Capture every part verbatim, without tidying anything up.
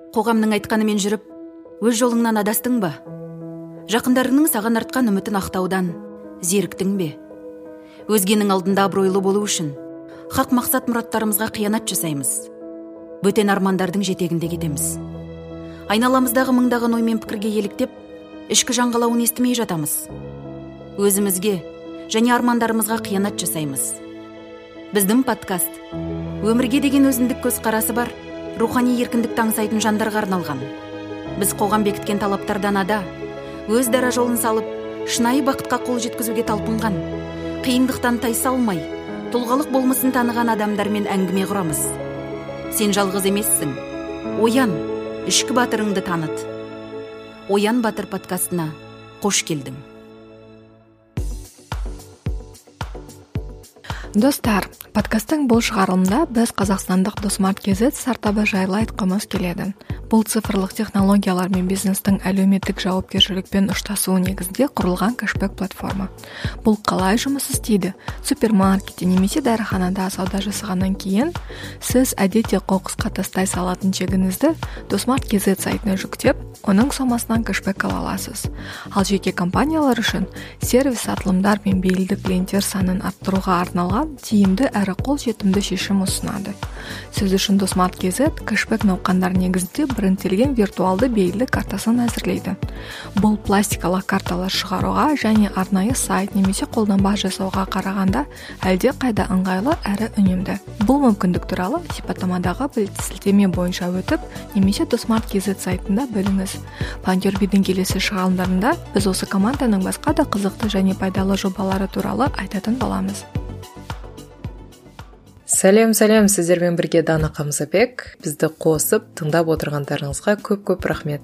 Қоғамның айтқанымен жүріп, өз жолыңнан адастың ба? Жақындарыңның саған артқан үмітін ақтаудан зеріктің бе? Өзгенің алдында абыройлы болу үшін хақ мақсат мұраттарымызға қиянат жасаймыз. Бөтен армандардың жетегінде кетеміз. Айналамыздағы мыңдаған оймен пікірге еліктеп, ішкі жаңғалауын естімей жатамыз. Өзімізге және армандарымызға қиянат жасаймыз. Біздің подкаст өмірге деген өзіндік көзқарасы бар, рухани еркіндікті аңсайтын жандарға арналған. Біз қоғам бекіткен талаптардан ада, өз дара жолын салып, шынайы бақытқа қол жеткізуге талпынған, қиындықтан тайсалмай, тұлғалық болмысын таныған адамдармен әңгіме құрамыз. Сен жалғыз емессің. Оян, ішкі батырыңды таныт. Оян Батыр подкастына қош келдің. Достар, подкасттың бұл шығарылымда біз қазақстандық Досмарт кз стартабы жайлы айтқымыз келеді. Бұл цифрлық технологиялар мен бизнестің әлеуметтік жауапкершілікпен ұштасуы негізінде құрылған кэшбэк платформа. Бұл қалай жұмыс істейді? Супермаркетте немесе дәріханада сауда жасағаннан кейін сіз әдетте қоқысқа тастай салатын чегіңізді Досмарт кз сайтына жүктеп, оның сомасынан кэшбэк ала аласыз. Ал жеке компаниялар үшін сервис сатылымдар мен бейлді клиенттер санын арттыруға арналған тиімді әрі қолжетімді шешім ұсынады. Сіз үшін Досмарт кз кэшбэк науқандар негізінде брендтелген виртуалды бейлді картасын әзірлейді. Бұл пластикалық карталар шығаруға және арнайы сайт немесе қолданба жасауға қарағанда әлде қайда ыңғайлы әрі үнемді. Бұл мүмкіндік туралы сипаттамадағы сілтеме бойынша өтіп, немесе Досмарт кз сайтында біліңіз. Пантюрбидің келесі шығарылымдарында біз осы команданың басқа да қызықты және пайдалы жобалары туралы айтатын боламыз. Сәлем, сәлем, сіздермен бірге Дана Қамзабек. Бізді қосып, тыңдап отырғандарыңызға көп-көп рахмет.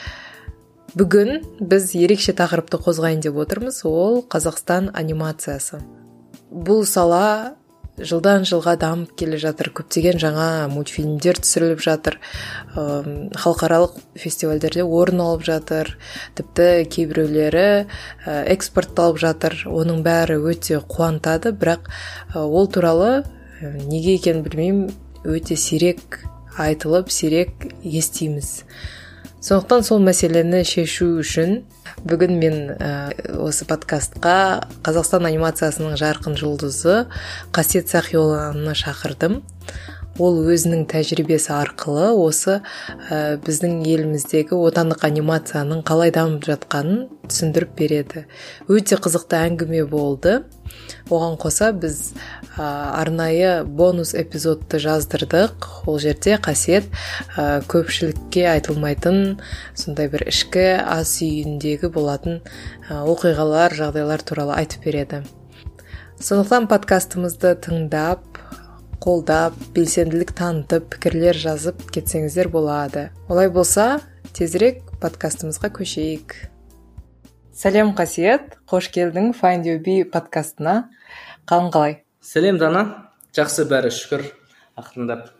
Бүгін біз ерекше тақырыпты қозғайын деп отырмыз, ол Қазақстан анимациясы. Бұл сала жылдан жылға дамып келе жатыр, көптеген жаңа мультфильмдер түсіріліп жатыр, халықаралық фестивальдерде орын алып жатыр, тіпті кейбіреулері экспортталып жатыр. Оның бәрі өте қуантады, бірақ ол туралы неге екенін білмеймін, өте сирек айтылып, сирек естиміз. Сондықтан сол мәселені шешу үшін бүгін мен ә, осы подкастқа Қазақстан анимациясының жарқын жұлдызы Қасиет Сақиолланы шақырдым. Ол өзінің тәжірибесі арқылы осы ә, біздің еліміздегі отандық анимацияның қалай дамып жатқанын түсіндіріп береді. Өте қызықты әңгіме болды. Оған қоса біз ә, арнайы бонус эпизодты жаздырдық. Ол жерде Қасиет ә, көпшілікке айтылмайтын сондай бір ішкі ас үйіндегі болатын ә, оқиғалар, жағдайлар туралы айтып береді. Сондықтан подкастымызды тыңдап, қолдап, белсенділік танытып, пікірлер жазып кетсеңіздер болады. Олай болса, тезірек подкастымызға көшейік. Сәлем, Қасиет, қош келдің Find Your Bee подкастына. Қалың қалай? Сәлем, Дана. Жақсы, бәрі шүкір, ақырындап.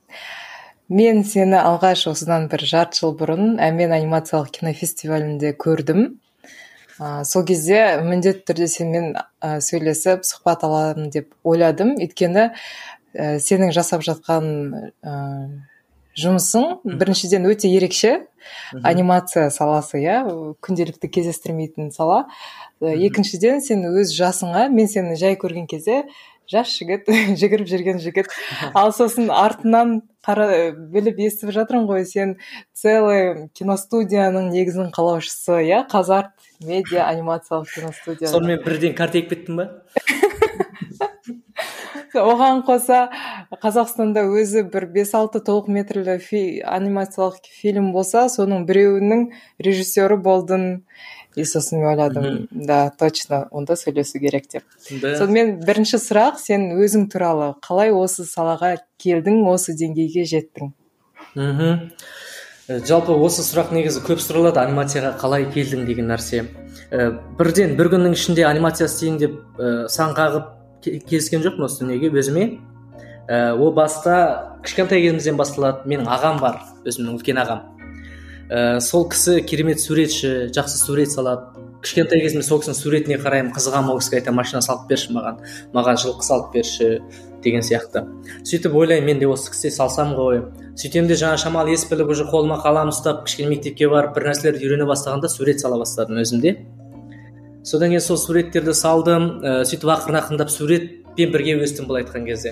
Мен сені алғаш осыдан бір жарты жыл бұрын Әмен анимациялық кинофестивалінде көрдім. Ә, сол кезде міндетті түрде сенімен ә, сөйлесіп, сұхбат аламын деп ойладым. Өйткені ә, сенің жасап жатқан ә, жұмысың біріншіден өте ерекше. Анимация саласы, я, күнделікті кездестірмейтін сала. Ә, екіншіден сен өз жасыңа, мен сені жай көрген кезде жас жігіт, жүгіріп жүрген жігіт. Ал сосын артынан қара біліп естіп жатырмын ғой, сен целый киностудияның негізін қалаушысы, я, Қазарт медиа анимациялық киностудия. Сонымен бірден карта егіп кеттің ба? Оған қоса Қазақстанда өзі бір бес алты толық метрлі фи, анимациялық фильм болса, соның біреуінің режиссері болдың. И сосын мен ойладым, да, точно, онда сөйлесу керек деп. Сонымен бірінші сұрақ, сен өзің туралы қалай осы салаға келдің, осы деңгейге жеттің? Мхм. Жалпы осы сұрақ негізі көп сұралады, анимацияға қалай келдің деген нәрсе. Бірден бір күннің ішінде анимация істейін деп сан қағып келіскен жоқпын осы дүниеге өзіме. Ол баста кішкентай кезімізден басталады. Менің ағам бар, өзімнің үлкен ағам. Ә, сол кісі керемет суретші, жақсы сурет салады. Кішкентай кезімде сол кісінің суретіне қараймын, қызығамын, ол кісіге айтамын, машина салып берші маған, маған жылқы салып берші, деген сияқты. Сөйтіп ойлаймын, мен де осы кісіге салсам ғой. Сөйтем де жаңа шамалы ес біліп уже қолыма қалам ұстап кішкене мектепке барып бір нәрселерді үйрене бастағанда сурет сала бастадым өзімде. Содан кейін сол суреттерді салдым, сөйтіп ақырын ақырындап суретпен бірге өстім былай айтқан кезде.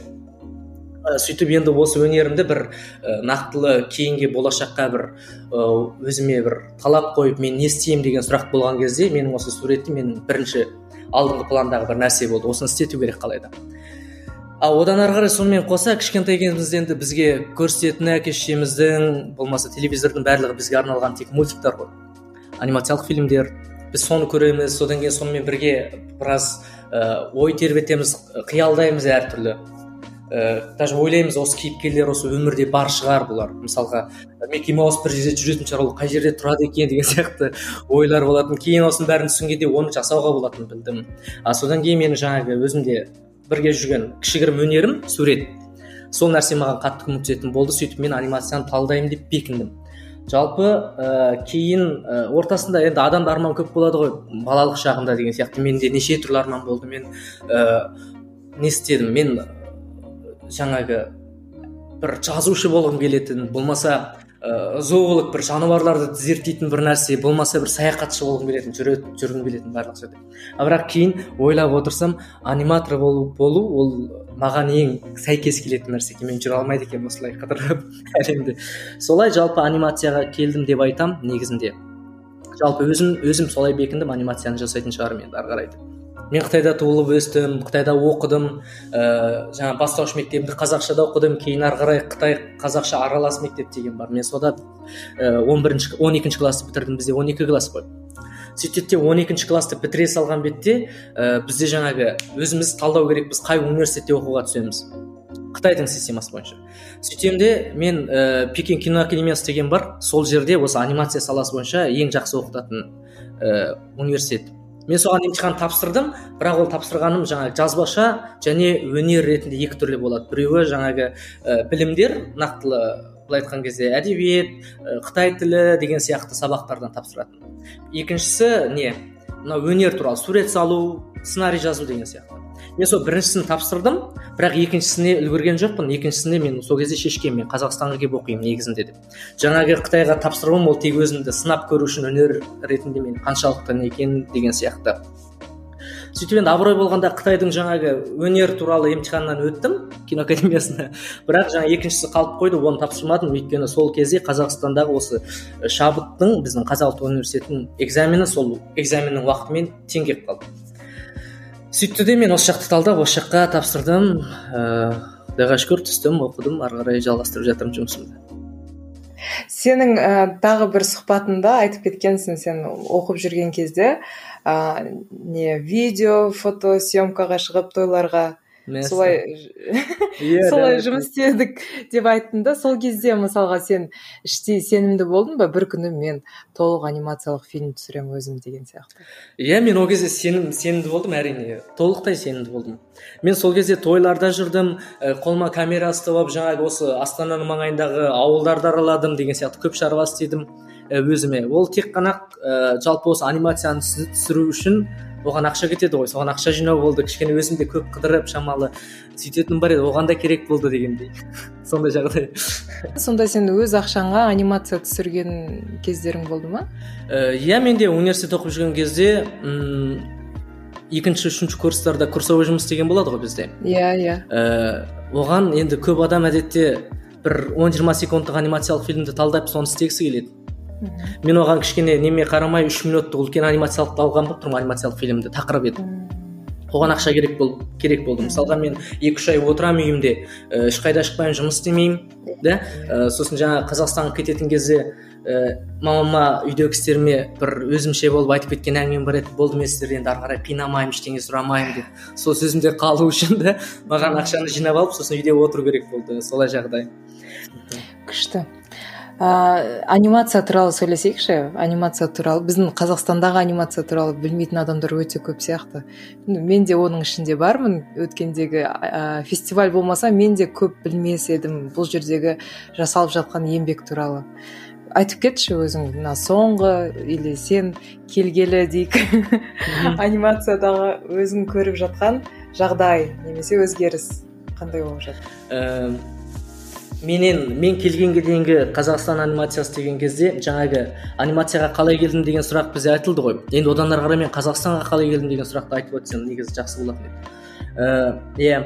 Сөйтіп енді осы өнерімді бір нақтылы кейінге болашаққа бір өзіме бір талап қойып мен не істеймін деген сұрақ болған кезде менің осы суретім менің бірінші алдыңғы пландағы бір нәрсе болды. Осыны істету керек қалайда. Ал одан ары қарай сонымен қоса кішкентай кезімізде енді бізге көрсететін әке-шешеміздің болмаса телевизордың барлығы бізге арналған тек мультиктер ғой, анимациялық фильмдер. Біз соны көреміз, содан кейін сонымен бірге біраз ой тербетеміз, қиялдаймыз әртүрлі. Даже ойлаймыз, осы кейіпкерлер осы өмірде бар шығар бұлар. Мысалға Микки Маус бір жерде жүретін шығар, ол қай жерде тұрады екен деген сияқты ойлар болатын. Кейін осының бәрін түсінгенде оны жасауға болатынын білдім. А содан кейін менің жаңағы өзімде бірге жүрген кішігірім өнерім сурет. Сол нәрсе маған қатты көмектесетін болды. Сөйтіп мен анимацияны талдаймын деп бекіндім. Жалпы ә, кейін ә, ортасында енді адамда арман көп болады ғой, балалық шағында деген сияқты. Менде неше түрлі арман болды. Мен ә, не істедім? Мен жаңағы бір жазушы болғым келетін, болмаса ә, зоолог, бір жануарларды зерттейтін бір нәрсе, болмаса бір саяхатшы болғым келетін, жүргім келетін барлық жерде. А бірақ кейін ойлап отырсам, аниматор болу, болу ол маған ең сәйкес келетін нәрсе екен. Мен жүре алмайды екен осылай қыдырып әлемде. Солай жалпы анимацияға келдім деп айтам негізінде. Жалпы өзім өзім солай бекіндім, анимацияны жасайтын шығармын енді ары қарай. Мен Қытайда туылып өстім, Қытайда оқыдым, ә, жаңа бастауыш мектебімді қазақшада оқыдым, кейін ары қарай Қытай қазақша аралас мектеп деген бар. Мен сода он бірінші он екінші класты бітірдім, бізде он екі класс қой. Сөйтіп он екінші класты бітіре салған бетте ә, бізде жаңағы өзіміз талдау керек, біз қай университетте оқуға түсеміз. Қытайдың системасы бойынша. Сөйтемде мен ә, Пекин киноакадемиясы деген бар, сол жерде осы анимация саласы бойынша ең жақсы оқытатын ә, университет. Мен соған емтихан тапсырдым, бірақ ол тапсырғаным жаңағы жазбаша және өнер ретінде екі түрлі болады. Біреуі жаңағы ә, білімдер, нақтылы былай айтқан кезде әдебиет, ә, Қытай тілі деген сияқты сабақтардан тапсыратын. Екіншісі не? Мына өнер туралы сурет салу, сценарий жазу деген сияқты. Мен сол біріншісін тапсырдым, бірақ екіншісіне үлгерген жоқпын. Екіншісінде мен сол кезде шешкем, мен Қазақстанға келіп оқимын негізінде деп. Жаңағы Қытайға тапсырғым ол тек өзімді сынап көру үшін, өнер ретінде мен қаншалықты не екен деген сияқты. Сөйтіп енді абырой болғанда Қытайдың жаңағы өнер туралы емтиханнан өттім, киноакадемиясына. Бірақ жаңа екіншісі қалып қойды, оны тапсырмадым, өйткені сол кезде Қазақстандағы осы шабыттың, біздің Қазақ ұлттық университетінің экзамені, сол экзаменнің уақытымен тең келіп қалды. Сөйтті де мен осы жақты талдап, осы жаққа тапсырдым, құдайға шүкір түстім, оқыдым, ары қарай жалғастырып жатырмын жұмысымды. Сенің ә, тағы бір сұхбатында айтып кеткенсің, сен оқып жүрген кезде ә, не видео, фото съемкаға шығып тойларға солай солай жұмыс істедік деп айттың да. Сол кезде мысалға сен іштей сенімді болдың ба, бір күні мен толық анимациялық фильм түсіремін өзім деген сияқты? Иә, мен ол кезде сенім сенімді болдым, әрине, толықтай сенімді болдым. Мен сол кезде тойларда жүрдім, қолыма камера ұстап алып, жаңағы осы Астананың маңайындағы ауылдарды араладым деген сияқты көп шаруа істедім өзіме. Ол тек қана ә, жалпы осы анимацияны түсіру үшін оған ақша кетеді ғой, соған ақша жинау болды, кішкене өзімде көп қыдырып шамалы сөйтетін бар еді, оған да керек болды дегендей. Сондай жағдай. Сонда сен өз ақшаңа анимация түсірген кездерің болды ма? Иә, мен де университет оқып жүрген кезде м- екінші, үшінші курстарда курсовой жұмыс деген болады ғой бізде. Иә, иә. Оған енді көп адам әдетте бір он жиырма секундтық анимациялық фильмді талдап соны істегісі келеді. Мен оған кішкене неме қарамай үш минуттық үлкен анимациялық алған болып тұрмын, анимациялық фильмді тақырып еді. Оған ақша керек болды, керек болды. Мысалға мен екі үш ай отырамын үйімде, ешқайда шықпаймын, жұмыс істемеймін, да? Сосын жаңа Қазақстанға кететін кезде мамама үйдегі істеріме бір өзімше болып айтып кеткен әңгімем бар еді, болды мен сіздерден енді ары қарай қинамаймын, ештеңе сұрамаймын деп. Сол сөзімде қалу үшін де маған ақшаны жинап алып, сосын үйде отыру керек болды, солай жағдай. Күшті. Ә, анимация туралы сөйлесейікші. Анимация туралы, біздің Қазақстандағы анимация туралы білмейтін адамдар өте көп сияқты. Мен де оның ішінде бармын. Өткендегі ә, фестиваль болмаса мен де көп білмес едім бұл жердегі жасалып жатқан еңбек туралы. Айтып кетші өзің, мына соңғы или сен келгелі дейік анимациядағы өзің көріп жатқан жағдай немесе өзгеріс қандай болып жатыр? ә, менен мен келгенге дейінгі Қазақстан анимациясы деген кезде жаңағы анимацияға қалай келдім деген сұрақ бізде айтылды ғой. Енді одан ары қарай мен Қазақстанға қалай келдім деген сұрақты айтып өтсем негізі жақсы болатын еді. Иә,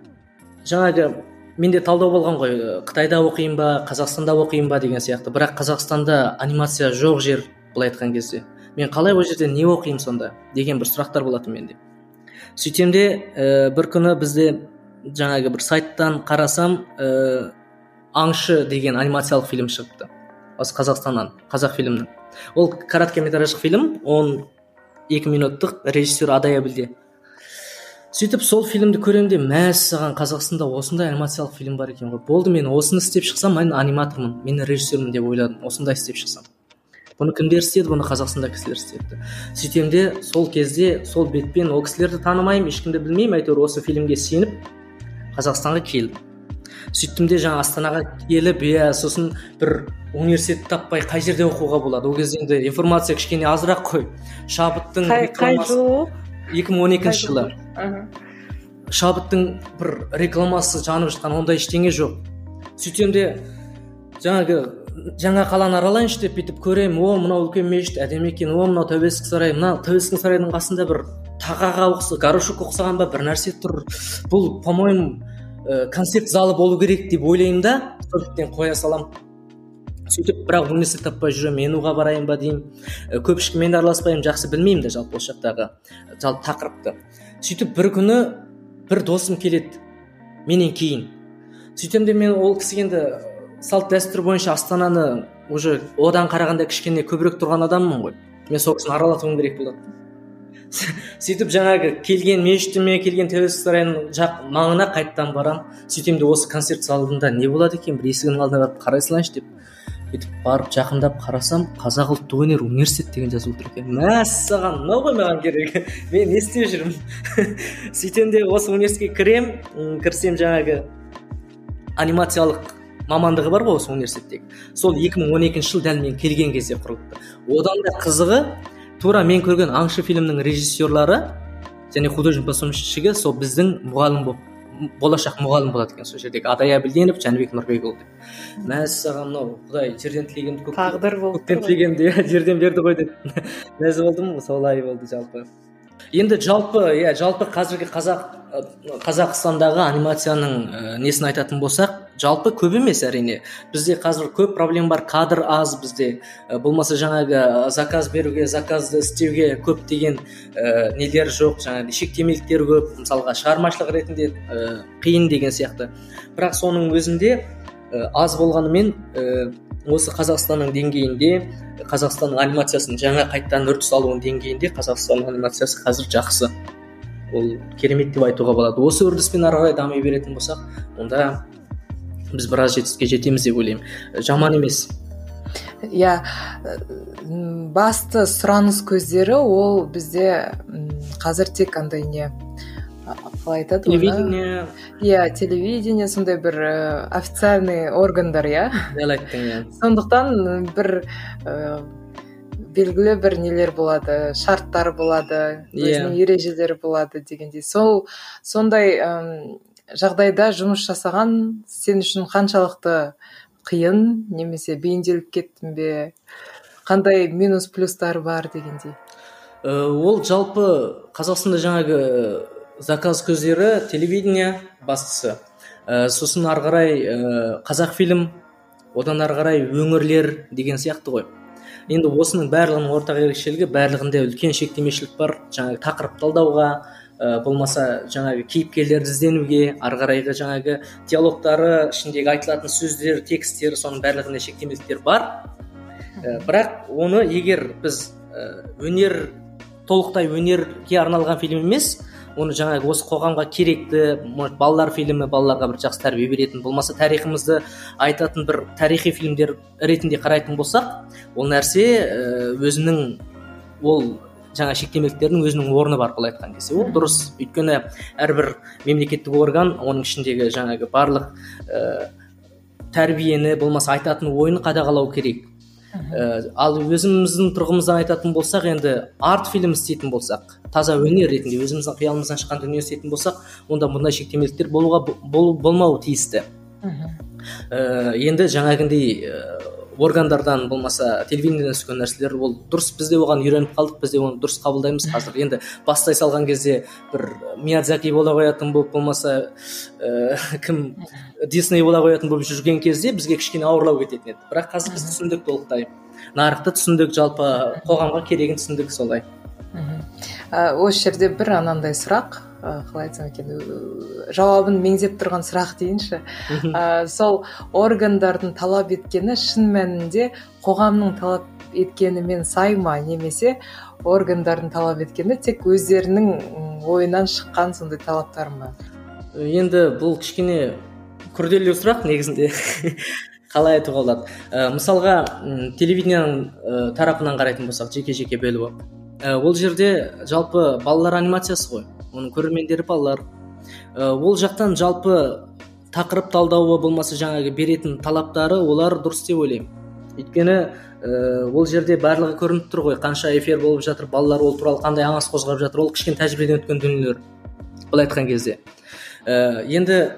жаңағы менде талдау болған ғой, Қытайда оқиын ба, Қазақстанда оқиын ба деген сияқты. Бірақ Қазақстанда анимация жоқ жер, былай айтқан кезде. Мен қалай ол жерде не оқимын сонда деген бір сұрақтар болатын менде. Сөйтсем де ә, бір күні бізде жаңағы бір сайттан қарасам, ә, Аңшы деген анимациялық фильм шығыпты. Осы Қазақстаннан, қазақ фильмнің. Ол короткометраждық фильм, он екі минуттық, режиссер Адай Әбілде. Сөйтіп сол фильмді көремде, мәссаған, Қазақстанда осындай анимациялық фильм бар екен ғой. Болды, мен осыны істеп шықсам, мен аниматормын, мен режиссермін деп ойладым. Осындай істеп шықсам. Бұны кімдер істеді? Бұны Қазақстанда кісілер істепті. Сөйтемде сол кезде, сол бетпен ол кісілерді танымаймын, ешкімді білмеймін, әйтеуір осы фильмге сеніп Қазақстанға келдім. Сөйттім де жаңа Астанаға келіп, иә, сосын бір университет таппай қай жерде оқуға болады. Ол кезде енді информация кішкене азырақ қой. Шабыттың қай жыл? екі мың он екінші жылы. Шабыттың бір рекламасы жанып жатқан, ондай ештеңе жоқ. Сөйтсем де жаңағы жаңа қаланы аралайыншы деп бүйтіп көремін. О, мынау үлкен мешіт, әдемі екен. О, мынау Тәуелсіздік сарайы. Мына Тәуелсіздік сарайының қасында бір тағаға ұқсаған, горошок ұқсаған ба бір нәрсе тұр. Бұл, по-моему, концерт залы болу керек деп ойлаймын да, сондықтан қоя салам. Сөйтіп, бірақ университет таппай жүремін, енуға барайын ба деймін. Көп ешкіммен араласпаймын, жақсы білмеймін де жалпы осы жақтағы жалпы тақырыпты. Сөйтіп, бір күні бір досым келеді менен кейін. Сөйтем де мен ол кісі енді салт дәстүр бойынша Астананы уже одан қарағанда кішкене көбірек тұрған адаммын ғой. Мен сол кісіні аралатуым керек болады. Сөйтіп жаңағы келген мешітіме, келген Тәуелсіздік сарайының жақ маңына қайттан барам. Сөйтем де осы концерт залында не болады екен, бір есігінің алдына барып қарай салайыншы деп. Сөйтіп барып жақындап қарасам, Қазақ ұлттық өнер университет деген жазылып тұр екен. Мәссаған, мынау ғой маған керек. Мен не істеп жүрмін? Сөйтем де осы университетке кірем, кірсем жаңағы анимациялық мамандығы бар ғой осы университеттегі. Сол екі мың он екінші жыл дәл мен келген кезде құрылыпты. Одан да қызығы, тура мен көрген Аңшы фильмнің режиссерлары және художник-постановщигі сол біздің мұғалім болып, болашақ мұғалім болады екен сол жердегі Адай Әбілденов, Жәнібек Нұрбекұлы деп. Мәссаған, мынау Құдай жерден тілегенді көк... тағдыр болды. Көктен тілегенді жерден берді ғой деп. Мәз болдым, солай болды жалпы. Енді жалпы, иә, жалпы қазіргі қазақ Қазақстандағы анимацияның ә, несін айтатын болсақ, жалпы көп емес әрине. Бізде қазір көп проблема бар, кадр аз бізде. Ә, болмаса жаңағы заказ беруге, заказды істеуге көп деген ә, нелер жоқ, жаңағы шектемеліктер көп, мысалға шығармашылық ретінде ә, қиын деген сияқты. Бірақ соның өзінде ә, аз болғанымен ә, осы Қазақстанның деңгейінде, Қазақстанның анимациясының жаңа қайттан үрдіс алуының деңгейінде Қазақстанның анимациясы қазір жақсы. Ол керемет деп айтуға болады. Осы үрдіспен ары қарай дами беретін болсақ, онда біз біраз жетістікке жетеміз деп ойлаймын. Жаман емес. Иә, басты сұраныс көздері ол бізде қазір тек андай не қалай айтады? Телевидение. Иә, телевидение, сондай бір официальный органдар, иә. Дәл айттың, иә. Сондықтан бір белгілі бір нелер болады, шарттар болады, өзінің ережелері болады дегендей. Сол сондай жағдайда жұмыс жасаған сен үшін қаншалықты қиын, немесе бейімделіп кеттің бе? Қандай минус плюстар бар дегендей? Ол жалпы Қазақстанда жаңағы заказ көздері телевидение бастысы. Сосын ары қарай қазақ фильм, одан ары қарай өңірлер деген сияқты ғой. Енді осының барлығының ортақ ерекшелігі, барлығында үлкен шектемешілік бар, жаңағы тақырып талдауға, болмаса жаңағы кейіпкерлерді ізденуге, ары қарайғы жаңағы диалогтары, ішіндегі айтылатын сөздер, текстер, соның барлығында шектемеліктер бар. Бірақ оны егер біз өнер, толықтай өнерге арналған фильм емес, оны жаңағы осы қоғамға керекті, балалар фильмі, балаларға бір жақсы тәрбие беретін, болмаса тарихымызды айтатын бір тарихи фильмдер ретінде қарайтын болсақ, ол нәрсе өзінің, ол жаңа шектемеліктердің өзінің орны бар, былай айтқан кезде. Ол дұрыс, өйткені әрбір мемлекеттік орган, оның ішіндегі жаңағы барлық ә, тәрбиені, болмаса айтатын ойын қадағалау керек. ә, ал өзіміздің тұрғымыздан айтатын болсақ, енді арт фильм істейтін болсақ, таза өнер ретінде өзіміздің қиялымыздан шыққан дүние істейтін болсақ, онда мұндай шектемеліктер болуға бол, болмауы тиісті. ә, енді жаңағындай органдардан болмаса телевидениеден түскен нәрселер ол дұрыс, біз де оған үйреніп қалдық, біз де оны дұрыс қабылдаймыз. Қазір енді бастай салған кезде бір Миядзаки бола қоятын болып, болмаса ә, кім Дисней бола қоятын болып жүрген кезде бізге кішкене ауырлау кететін еді. Бірақ қазір біз түсіндік толықтай, нарықты түсіндік, жалпы қоғамға керегін түсіндік. Солай. Осы жерде бір анандай сұрақ, қалай айтсам екен, жауабын меңзеп тұрған сұрақ дейінші. Сол органдардың талап еткені шын мәнінде қоғамның талап еткенімен сай ма, немесе органдардың талап еткені тек өздерінің ойынан шыққан сондай талаптар ма? Енді бұл кішкене күрделі сұрақ негізінде. Қалай айтуға болады? Мысалға, телевидениенің тарапынан қарайтын болсақ, жеке-жеке бөліп, ол жерде жалпы балалар анимациясы ғой, оның көрермендері балалар. Ол жақтан жалпы тақырып талдауы болмаса жаңағы беретін талаптары олар дұрыс деп ойлаймын. Өйткені ол жерде барлығы көрініп тұр ғой, қанша эфир болып жатыр, балалар ол туралы қандай аңыз қозғап жатыр, ол кішкене тәжірибеден өткен дүниелер. Бұл айтқан кезде. Енді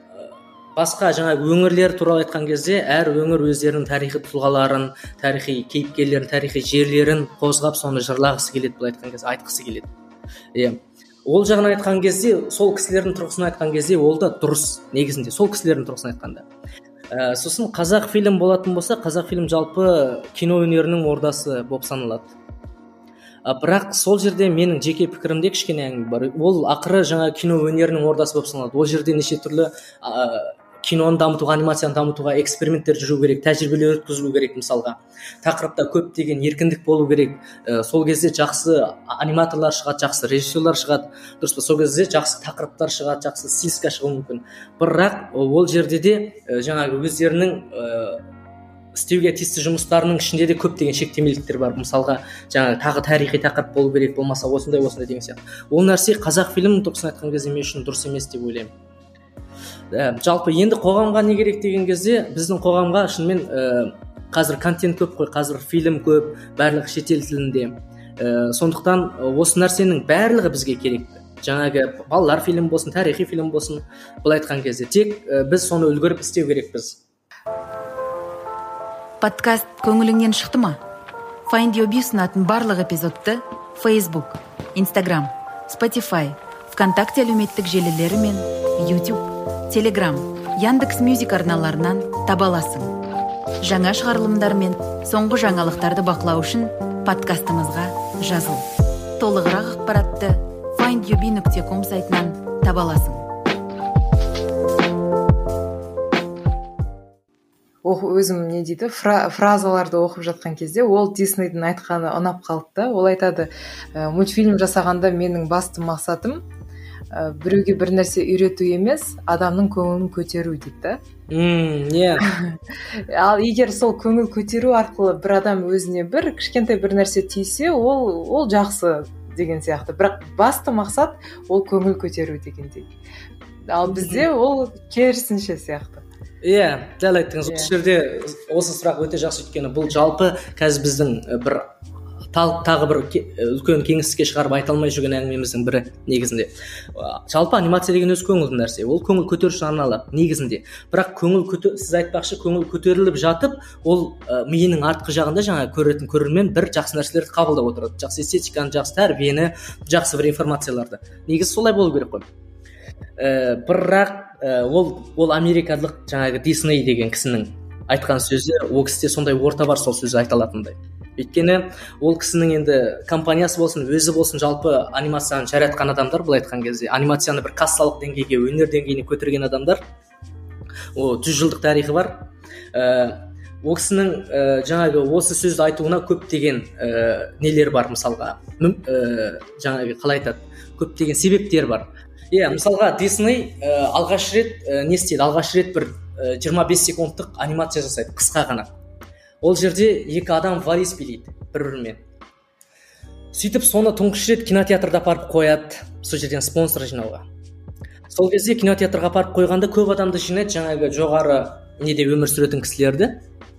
басқа жаңағы өңірлер туралы айтқан кезде, әр өңір өздерінің тарихи тұлғаларын, тарихи кейіпкерлерін, тарихи жерлерін қозғап, соны жырлағысы келеді, бұл айтқан кезде, айтқысы келеді. Е, ол жағын айтқан кезде, сол кісілердің тұрғысынан айтқан кезде, ол да дұрыс негізінде, сол кісілердің тұрғысынан айтқанда. Ә, сосын қазақ фильм болатын болса, қазақ фильм жалпы кино өнерінің ордасы болып саналады. А, бірақ сол жерде менің жеке пікірімде кішкене әңгіме бар. Ол ақыры жаңа кино өнерінің ордасы болып саналады. Ол жерде неше түрлі ә, киноны дамытуға, анимацияны дамытуға эксперименттер жүру керек, тәжірибелер өткізу керек. Мысалға, тақырыпта көптеген еркіндік болу керек. Ә, сол кезде жақсы аниматорлар шығады, жақсы режиссерлар шығады, дұрыс па? Сол кезде жақсы тақырыптар шығады, жақсы стилистика шығуы мүмкін. Бірақ ол жерде де ә, жаңағы өздерінің ә, істеуге тиісті жұмыстарының ішінде де көптеген шектемеліктер бар. Мысалға, жаңағы тағы тарихи тақырып болу керек, болмаса осындай осындай деген сияқты. Ол нәрсе қазақ фильмінің тұрғысынан айтқан кезде мен үшін дұрыс емес деп ойлаймын. Ә, жалпы енді қоғамға не керек деген кезде, біздің қоғамға шынымен ә, қазір контент көп қой, қазір фильм көп, барлығы шетел тілінде. Ә, сондықтан осы нәрсенің барлығы бізге керек. Жаңағы балалар фильм болсын, тарихи фильм болсын, бұл айтқан кезде тек ә, біз соны үлгеріп істеу керекпіз. Подкаст көңіліңнен шықты ма? Find Your Bee ұсынатын барлық эпизодты Facebook, Instagram, Spotify, ВКонтакте әлеуметтік желілері мен YouTube, Telegram, Яндекс.Мюзик арналарынан таба аласың. Жаңа шығарылымдар мен соңғы жаңалықтарды бақылау үшін подкастымызға жазыл. Толығырақ ақпаратты find your bee нүкте ком сайтынан таба аласың. Өзім не дейді, фра, фразаларды оқып жатқан кезде ол Диснейдің айтқаны ұнап қалды. Ол айтады, мультфильм жасағанда менің басты мақсатым біреуге бір нәрсе үйрету емес, адамның көңілін көтеру дейді. Мм, не. Ал егер сол көңіл көтеру арқылы бір адам өзіне бір кішкентай бір нәрсе тисе, ол ол жақсы деген сияқты. Бірақ басты мақсат ол көңіл көтеру дегендей. Ал бізде ол керісінше сияқты. Иә, дәл айттыңыз. Осы жерде осы сұрақ өте жақсы, өйткені бұл жалпы қазір біздің бір тағы бір үлкен кеңістікке шығарып айта алмай жүрген әңгімеміздің бірі негізінде. Жалпы анимация деген өз көңілді нәрсе. Ол көңіл көтеру үшін арналады негізінде. Бірақ көңіл көтер, сіз айтпақшы, көңіл көтеріліп жатып, ол ә, миының артқы жағында жаңа көретін көрермен бір жақсы нәрселерді қабылдап отырады. Жақсы эстетиканы, жақсы тәрбиені, жақсы бір информацияларды. Негізі солай болу керек қой. Ә, бірақ ә, ол ол америкалық жаңағы Дисней деген кісінің айтқан сөзі, ол кісіде сондай орта бар сол сөзі айта алатындай. Өйткені ол кісінің енді компаниясы болсын, өзі болсын, жалпы анимацияны жаратқан адамдар, бұл айтқан кезде анимацияны бір кассалық деңгейге, өнер деңгейіне көтерген адамдар. О, жүз жылдық тарихы бар. Ә, ол кісінің ә, жаңағы осы сөзді айтуына көптеген ә, нелер бар, мысалға. Ә, жаңағы қалай айтады? Көптеген себептер бар. Иә, мысалға Дисней ә, алғаш рет ә, не істейді? Алғаш рет бір ә, жиырма бес секундтық анимация жасайды, қысқа ғана. Ол жерде екі адам вальс билейді бір-бірімен. Сөйтіп соны тұңғыш рет кинотеатрда апарып қояды, сол жерден спонсор жинауға. Сол кезде кинотеатрға апарып қойғанда көп адамды жинайды, жаңағы жоғары неде өмір сүретін кісілерді.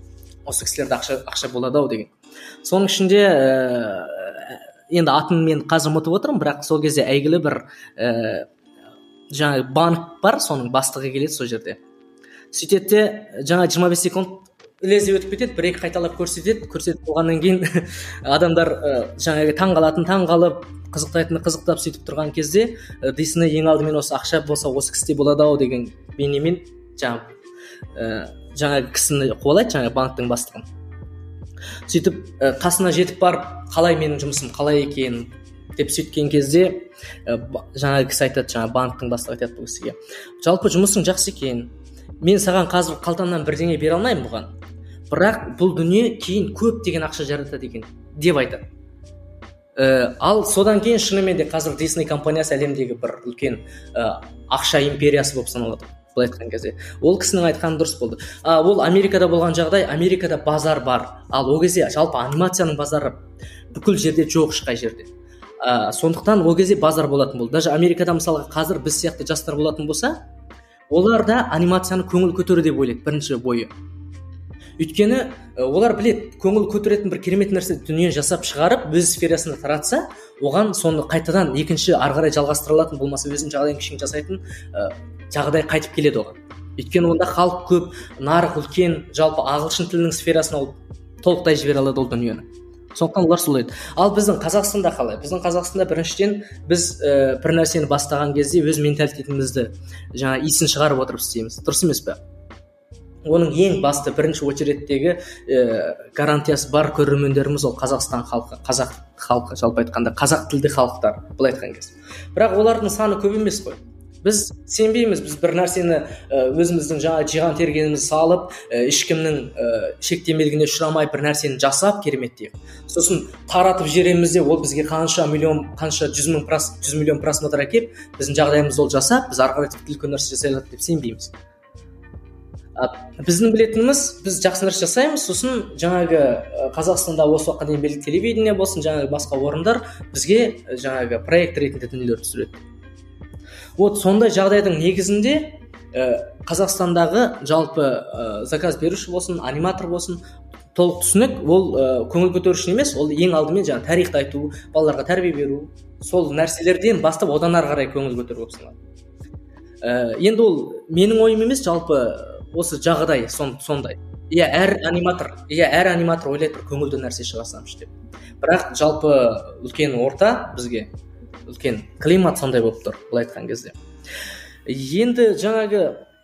осы кісілерде ақша ақша болады ау деген. Соның ішінде ә, енді атын мен қазір ұмытып отырмын, бірақ сол кезде әйгілі бір ә, жаңағы банк бар, соның бастығы келеді сол жерде. Сөйтеді де жаңа жиырма бес секунд лезде өтіп кетеді, бір екі қайталап көрсетеді, көрсетіп болғаннан кейін адамдар ә, жаңағы таң қалатын таң қалып, қызықтайтыны қызықтап сөйтіп тұрған кезде ә, Дисней ең алдымен осы ақша болса осы кісіде болады ау деген бейнемен жаңағы ә, жаңағы кісіні қуалайды, жаңағы банктың бастығын. Сөйтіп ә, қасына жетіп барып, қалай менің жұмысым қалай екен деп сөйткен кезде ә, жаңағы кісі айтады, жаңағы банктың бастығы айтады бұл кісіге: жалпы жұмысың жақсы екен, мен саған қазір қалтамнан бірдеңе бере алмаймын бұған, бірақ бұл дүние кейін көп деген ақша жаратады екен деп айтады. Ә, ал содан кейін шынымен де қазір Disney компаниясы әлемдегі бір үлкен ә, ақша империясы болып саналады. Былай айтқан кезде ол кісінің айтқаны дұрыс болды. А, ол Америкада болған жағдай, Америкада базар бар, ал ол кезде жалпы анимацияның базары бүкіл жерде жоқ, ешқай жерде. А, сондықтан ол кезде базар болатын болды. Даже Америкада мысалға қазір біз сияқты жастар болатын болса, олар да анимацияны көңіл көтеру деп ойлайды бірінші бойы. Өйткені олар білет, көңіл көтеретін бір керемет нәрсе дүние жасап шығарып, өз сферасында таратса, оған соны қайтадан екінші ары қарай жалғастырылатын, болмаса өзінің жағдайын кішкене жасайтын ә, жағдай қайтып келеді оған. Өйткені онда халық көп, нарық үлкен, жалпы ағылшын тілінің сферасына ол толықтай жібере алады ол дүниені. Сондықтан олар солай еді. Ал біздің Қазақстанда қалай? Біздің Қазақстанда біріншіден біз ә, бір нәрсені бастаған кезде өз менталитетімізді жаңа исін шығарып отырып істейміз. Дұрыс емес пе? Оның ең басты бірінші очереттегі ә, гарантиясы бар көрермендеріміз ол Қазақстан халқы, қазақ халқы, жалпы айтқанда қазақ тілді халықтар, былай айтқан кезде. Бірақ олардың саны көп емес қой. Біз сенбейміз, біз бір нәрсені ә, өзіміздің жаңа жиған тергенімізді салып, ә, ешкімнің ә, шектемелігіне ұшырамай бір нәрсені жасап кереметтейік. Сосын таратып жібереміз де, ол бізге қанша миллион, қанша жүз мың прос, жүз миллион просмотр әкеп, біздің жағдайымызды ол жасап, біз ары қарай тіпті үлкен нәрсе жасай алады деп сенбейміз. Біздің білетініміз, біз жақсы нәрсе жасаймыз, сосын жаңағы Қазақстанда осы уақытқа дейін белгілі телевидение болсын, жаңағы басқа орындар бізге жаңағы проект ретінде дүниелер түсіреді. Вот сондай жағдайдың негізінде ә, Қазақстандағы жалпы ә, заказ беруші болсын, аниматор болсын, толық түсінік, ол ә, көңіл көтеруші емес, ол ең алдымен жаңағы тарихты айту, балаларға тәрбие беру, сол нәрселерден бастап одан ары қарай көңіл көтеру болып саналады. Ә, енді ол менің ойым емес, жалпы осы жағдай сон, сондай. Иә, әр аниматор, иә, әр аниматор ойлайды бір көңілді нәрсе шығарсамшы деп. Бірақ жалпы үлкен орта бізге үлкен климат сондай болып тұр, былай айтқан кезде. Енді жаңағы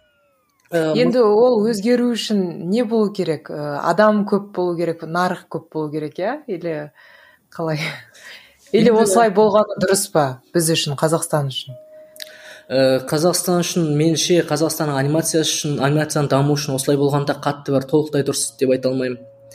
ә, енді ол өзгеру үшін не болу керек? Адам көп болу керек, нарық көп болу керек, иә? Или қалай? Или осылай болғаны дұрыс па біз үшін, Қазақстан үшін? Қазақстан үшін, меніңше Қазақстанның анимациясы үшін, анимацияның даму үшін осылай болғанда қатты бір толықтай дұрыс деп айта алмаймын.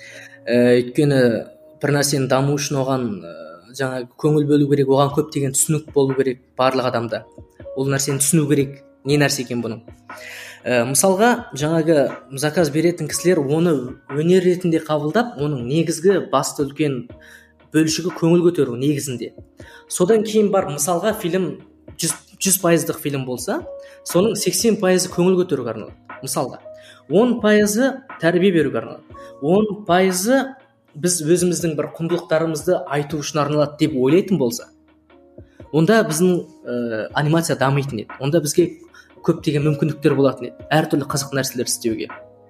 Өйткені бір нәрсенің даму үшін оған жаңа көңіл бөлу керек, оған көптеген түсінік болу керек барлық адамда. Ол нәрсені түсіну керек, не нәрсе екен бұның. Мысалға, жаңағы заказ беретін кісілер оны өнер ретінде қабылдап, оның негізгі басты үлкен бөлшігі көңіл көтеру негізінде. Содан кейін бар, мысалға фильм жүз пайыздық фильм болса, соның сексен пайызы көңіл көтеруге арналады. Мысалға, он пайызы тәрбие беруге арналады. он пайызы біз өзіміздің бір құндылықтарымызды айту үшін арналады деп ойлайтын болса, онда біздің ә, анимация дамитын еді. Онда бізге көптеген мүмкіндіктер болатын еді. Әртүрлі қызық нәрселер істеуге,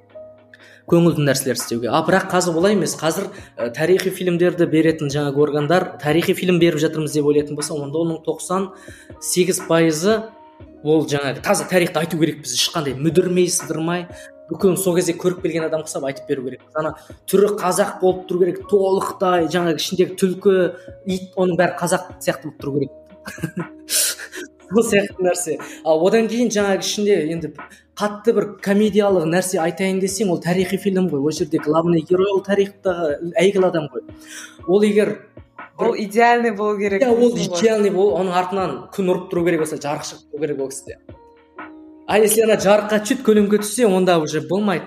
көңілді нәрселер істеуге. А бірақ қазір олай емес. Қазір ә, тарихи фильмдерді беретін жаңағы органдар тарихи фильм беріп жатырмыз деп ойлайтын болса, онда оның тоқсан сегіз пайызы ол жаңағы таза тарихты айту керек. Біз ешқандай мүдірмей, сыдырмай, бүкіл сол кезде көріп келген адам құсап айтып беру керек. Ана түрі қазақ болып тұру керек, толықтай жаңағы ішіндегі түлкі, ит, оның бәрі қазақ сияқты болып тұру керек. Бұл сияқты нәрсе. Ал одан кейін жаңағы ішінде енді қатты бір комедиялық нәрсе айтайын десең, ол тарихи фильм ғой. Ол жерде главный герой ол тарихтағы әйгілі адам ғой. Ол егер ол идеальный болу керек. Иә, ол идеальный бол, оның артынан күн ұрып тұру керек болса, жарық шығып тұру керек ол кісіде. А если ана жарыққа түсет, көлеңке түссе, онда уже болмайды.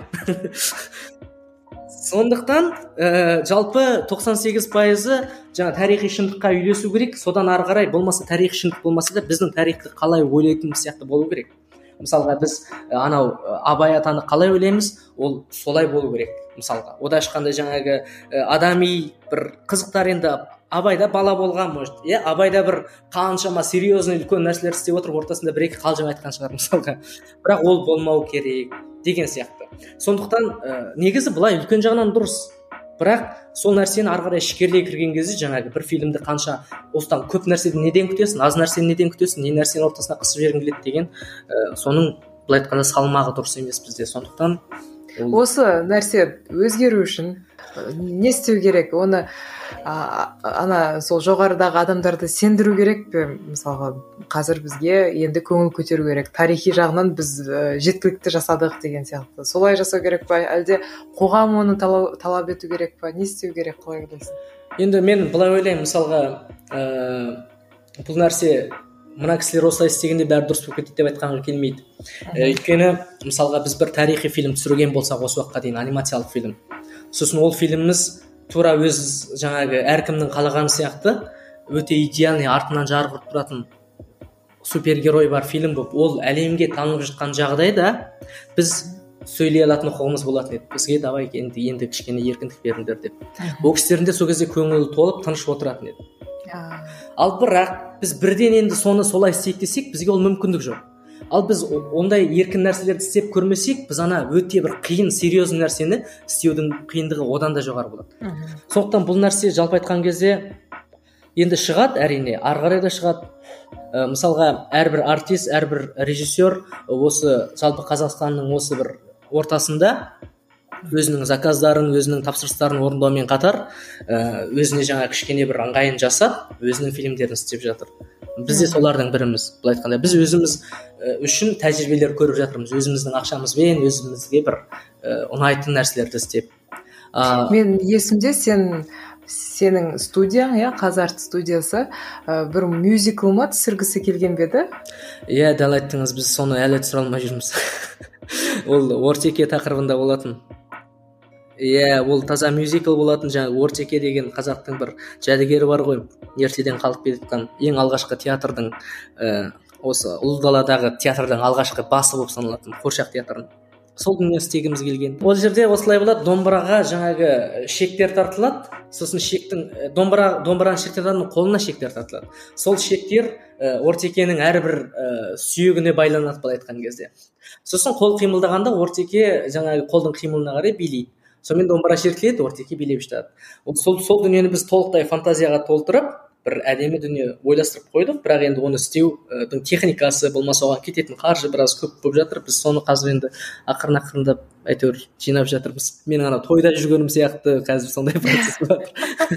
Сондықтан ә, жалпы тоқсан сегіз пайызы жаңа тарихи шындыққа үйлесу керек, содан ары қарай болмаса тарихи шындық болмаса да біздің тарихты қалай ойлайтынымыз сияқты болу керек. мысалға біз анау Абай атаны қалай ойлаймыз, ол солай болу керек. Мысалға ода ешқандай жаңағы адами бір қызықтар, енді Абайда бала болған, может, иә, Абайда бір қаншама серьезный үлкен нәрселер істеп отырып, ортасында бір екі қалжың айтқан шығар мысалға, бірақ ол болмау керек деген сияқты. Сондықтан ә, негізі былай үлкен жағынан дұрыс, бірақ сол нәрсені ары қарай ішкерлей кірген кезде жаңағы бір фильмді қанша осыдан көп нәрседен неден күтесің, аз нәрсені неден күтесің, не нәрсені ортасына қысып жібергің келеді деген ә, соның былай айтқанда салмағы дұрыс емес бізде. Сондықтан ол... осы нәрсе өзгеру үшін не істеу керек? Оны а, ана сол жоғарыдағы адамдарды сендіру керек пе? Мысалға қазір бізге енді көңіл көтеру керек, тарихи жағынан біз жеткілікті жасадық деген сияқты. Солай жасау керек па, әлде қоғам оны талап, талап ету керек па? Не істеу керек, қалай ойлайсың? Енді мен былай ойлаймын, мысалға ә, бұл нәрсе мына кісілер осылай істегенде бәрі дұрыс болып кетеді деп айтқанға келмейді. Өйткені мысалға біз бір тарихи фильм түсірген болсақ осы уақытқа дейін, анимациялық фильм, сосын ол фильміміз тура өз жаңағы әркімнің қалағаны сияқты өте идеальный, артынан жарқ ұрып тұратын супергерой бар фильм болып, ол әлемге танылып жатқан жағдайда біз сөйлей алатын құқығымыз болатын еді. Бізге давай енді, енді кішкене еркіндік беріңдер деп. Ол кісілердің де сол кезде көңілі толып тыныш отыратын еді. Ал бірақ біз бірден енді соны солай істейік десек, бізге ол мүмкіндік жоқ. Ал біз ондай еркін нәрселерді істеп көрмесек, біз ана өте бір қиын, серьезный нәрсені істеудің қиындығы одан да жоғары болады. Сондықтан бұл нәрсе жалпы айтқан кезде енді шығады, әрине, ары қарай да шығады. Ә, мысалға әрбір артист, әрбір режиссер осы жалпы Қазақстанның осы бір ортасында өзінің заказдарын, өзінің тапсырыстарын орындаумен қатар өзіне жаңа кішкене бір ыңғайын жасап, өзінің фильмдерін істеп жатыр. Біз де солардың біріміз. Былай айтқанда біз өзіміз үшін тәжірибелер көріп жатырмыз, өзіміздің ақшамызбен өзімізге бір ұнайтын нәрселерді істеп. Мен есімде сен сенің студияң, иә, Қазарт студиясы бір мюзикл ма түсіргісі келген бе еді? Иә, дәл айттыңыз, біз соны әлі түсіре алмай жүрміз. Ол Ортеке тақырыбында болатын. Иә, ол таза мюзикл болатын. Жаңағы Ортеке деген қазақтың бір жәдігері бар ғой, ертеден қалып кеткен ең алғашқы театрдың ә, осы ұлы даладағы театрдың алғашқы басы болып саналатын Қуыршақ театрын. Сол дүние істегіміз келген. Ол жерде осылай болады, домбыраға жаңағы шектер тартылады, сосын шектің домбыра домбыраның шектерінің қолына шектер тартылады. Сол шектер ә, Ортекенің әрбір ә, сүйегіне байланады, былай айтқан кезде. Сосын қол қимылдағанда Ортеке жаңағы қолдың қимылына қарай билейді. Сонымен домбыра шертіледі, Ортеке билеп жатады. Сол сол дүниені біз толықтай фантазияға толтырып, бір әдемі дүние ойластырып қойдық, бірақ енді оны істеудің техникасы болмаса оған кететін қаржы біраз көп болып жатыр. Біз соны қазір енді ақырын ақырындап әйтеуір жинап жатырмыз. Менің ана тойда жүргенім сияқты қазір сондай процесс бар.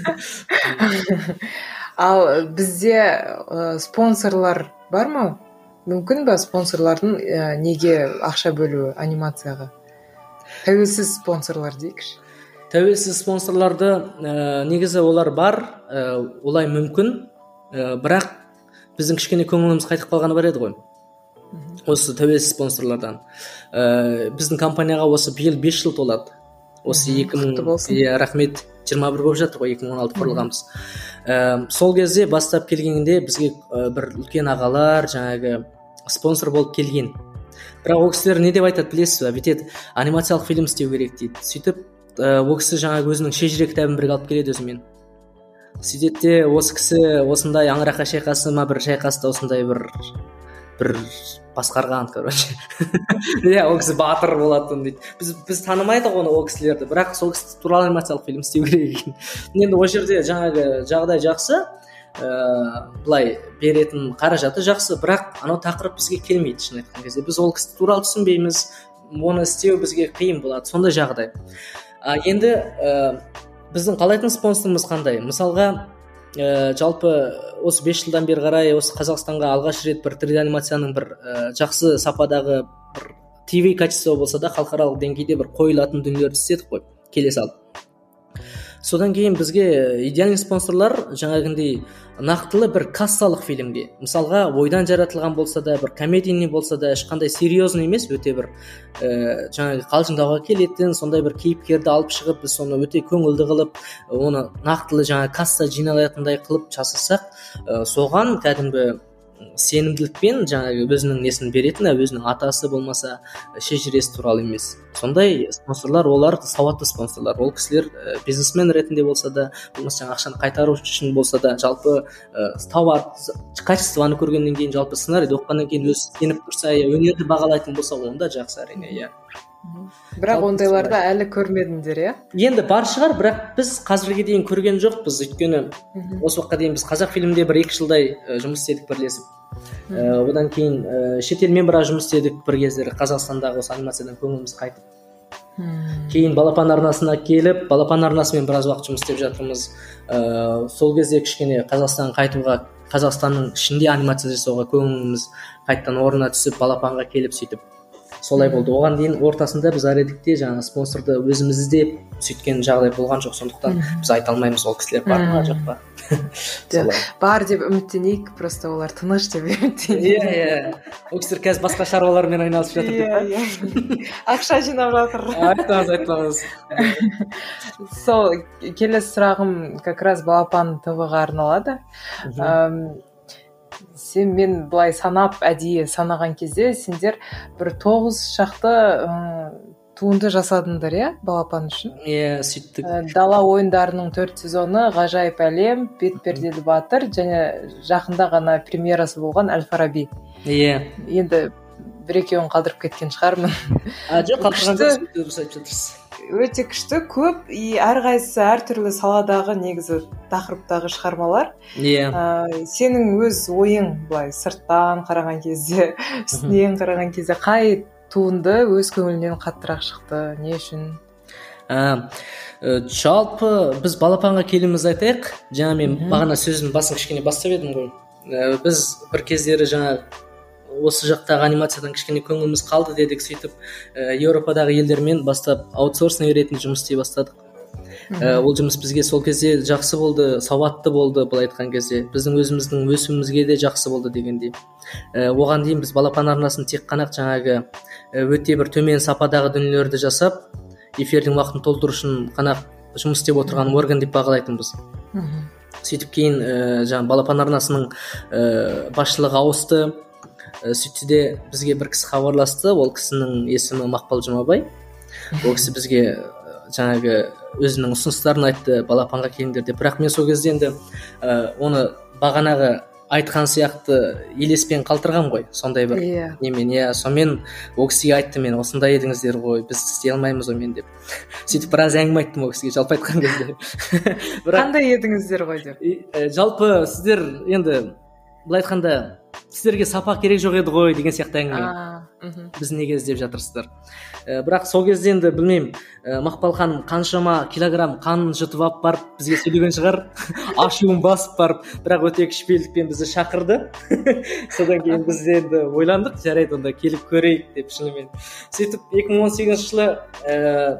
Ал бізде спонсорлар бар ма? Мүмкін бе спонсорлардың неге ақша бөлуі анимацияға? Тәуелсіз спонсорлар дейікші. Тәуелсіз спонсорларды ә, негізі олар бар, ә, олай мүмкін, ә, бірақ біздің кішкене көңіліміз қайтып қалғаны бар еді ғой. Осы тәуелсіз спонсорлардан. Ә, біздің компанияға осы биыл бес жыл толады. Осы екі мың иә, рахмет, жиырма бір болып жатыр ғой, екі мың он алты құрылғанбыз. Ә, сол кезде бастап келгенде бізге ә, бір үлкен ағалар жаңағы спонсор болып келген. Бірақ ол кісілер не деп айтады білесіз бе? Бүйтеді, анимациялық фильм істеу керек дейді. Сөйтіп ол кісі жаңағы өзінің шежіре кітабын бірге алып келеді өзімен. Сөйтеді де осы кісі осындай аңырақа шайқасы ма бір шайқаста осындай бір бір басқарған, короче. Иә, ол кісі батыр болатын дейді. Біз біз танымайдық оны ол кісілерді, бірақ сол кісі туралы анимациялық фильм істеу керек екен. Енді ол жерде жаңағы жағдай жақсы, ә, былай беретін қаражаты жақсы, бірақ анау тақырып бізге келмейді шын айтқан кезде. Біз ол кісі туралы түсінбейміз, оны істеу бізге қиын болады, сондай жағдай. А, енді ә, біздің қалайтын спонсорымыз қандай? Мысалға ә, жалпы осы бес жылдан бері қарай осы Қазақстанға алғаш рет бір три дэ анимацияның бір ә, жақсы сападағы бір ти ви качество болса да халықаралық деңгейде бір қойылатын дүниелерді істедік қой, келе салып. Содан кейін бізге идеальный спонсорлар жаңағындай нақтылы бір кассалық фильмге, мысалға ойдан жаратылған болса да, бір комедийный болса да, ешқандай серьезный емес, өте бір ә, жаңағы қалжыңдауға келетін сондай бір кейіпкерді алып шығып, біз соны өте көңілді қылып, оны нақтылы жаңағы касса жиналатындай қылып жасасақ, ә, соған кәдімгі сенімділікпен жаңағы өзінің несін беретін, өзінің атасы болмаса шежіресі туралы емес. Сондай спонсорлар, олар сауатты спонсорлар. Ол кісілер бизнесмен ретінде болса да, болмаса жаңағы ақшаны қайтару үшін болса да, жалпы тауар качествоны көргеннен кейін, жалпы сценарийді оқығаннан кейін өзі сеніп тұрса, өнерді бағалайтын болса, онда жақсы әрине, иә. Бірақ ондайларды әлі көрмедіңдер, иә? Енді бар шығар, бірақ біз қазірге дейін көрген жоқпыз. Өйткені осы уақытқа дейін біз қазақ фильмінде бір екі жылдай жұмыс істедік бірлесіп. Одан кейін шетелмен біраз жұмыс істедік бір кездері, Қазақстандағы осы анимациядан көңіліміз қайтып. Кейін Балапан арнасына келіп, Балапан арнасымен біраз уақыт жұмыс істеп жатырмыз. Сол кезде кішкене Қазақстанға қайтуға, Қазақстанның ішінде анимация жасауға көңіліміз қайттан орнына түсіп, Балапанға келіп сөйтіп солай болды. Оған дейін ортасында біз Аредикте жаңа спонсорды өзіміз іздеп сөйткен жағдай болған жоқ. Сондықтан біз айта алмаймыз ол кісілер бар ма жоқ па. Бар деп үміттенейік, просто олар тыныш деп үміттенейік. Иә, иә. Ол кісілер қазір басқа шаруалармен айналысып жатыр деп па. Ақша жинап жатыр. Айтпаңыз, айтпаңыз. Сол келесі сұрағым как раз Балапан ТВ-ға арналады. Сен мен былай санап әдейі санаған кезде сендер бір тоғыз шақты туынды жасадыңдар, иә, Балапан үшін? Иә, сөйттік. Дала ойындарының төрт сезоны, Ғажайып әлем, Бет-перделі батыр және жақында ғана премьерасы болған Әл-Фараби. Иә. Енді бір екеуін қалдырып кеткен шығармын. А, жоқ, қалдырған дұрыс айтып жатырсыз. Өте күшті, көп, и әрқайсысы әртүрлі саладағы негізі тақырыптағы шығармалар. Иә. Сенің өз ойың былай сырттан қараған кезде, үстінен қараған кезде қай туынды өз көңілінен қаттырақ шықты, не үшін? Жалпы біз Балапанға келіміз айтайық. Жаңа мен бағана сөздің басын кішкене бастап едім ғой. Біз бір кездері жаңа осы жақтағы анимациядан кішкене көңіліміз қалды дедік, сөйтіп Еуропадағы елдермен бастап аутсорсинг ретінде жұмыс істей бастадық. Ол жұмыс бізге сол кезде жақсы болды, сауатты болды, былай айтқан кезде. Біздің өзіміздің өсуімізге де жақсы болды дегендей. Оған дейін біз Балапан арнасын тек қана жаңағы өте бір төмен сападағы дүниелерді жасап, эфирдің уақытын толтыру үшін қана жұмыс істеп отырған орган деп бағалайтынбыз. Сөйтіп кейін жаңағы Балапан арнасының басшылығы ауысты. Сөйтті де бізге бір кісі хабарласты, ол кісінің есімі Мақпал Жұмабай. Ол кісі бізге жаңағы өзінің ұсыныстарын айтты, Балапанға келіңдер деп. Бірақ мен сол кезде енді оны бағанағы айтқан сияқты елеспен қалтырғам ғой, сондай бір немен. Иә, сонымен ол кісіге айтты, мен осындай едіңіздер ғой, біз істей алмаймыз омен деп. Сөйтіп біраз әңгіме айттым ол кісіге, жалпы айтқан кезде. Қандай едіңіздер ғой деп? Жалпы сіздер енді былай айтқанда сіздерге сапа керек жоқ еді ғой деген сияқты әңгіме. Біз неге іздеп жатырсыздар? Бірақ сол кезде енді білмеймін, Мақпал ханым қаншама килограмм қанын жұтып алып барып бізге сөйлеген шығар, ашуын басып барып, бірақ өте кішіпейілдікпен бізді шақырды. Содан кейін біз енді ойландық, жарайды онда келіп көрейік деп шынымен. Сөйтіп екі мың он сегізінші жылы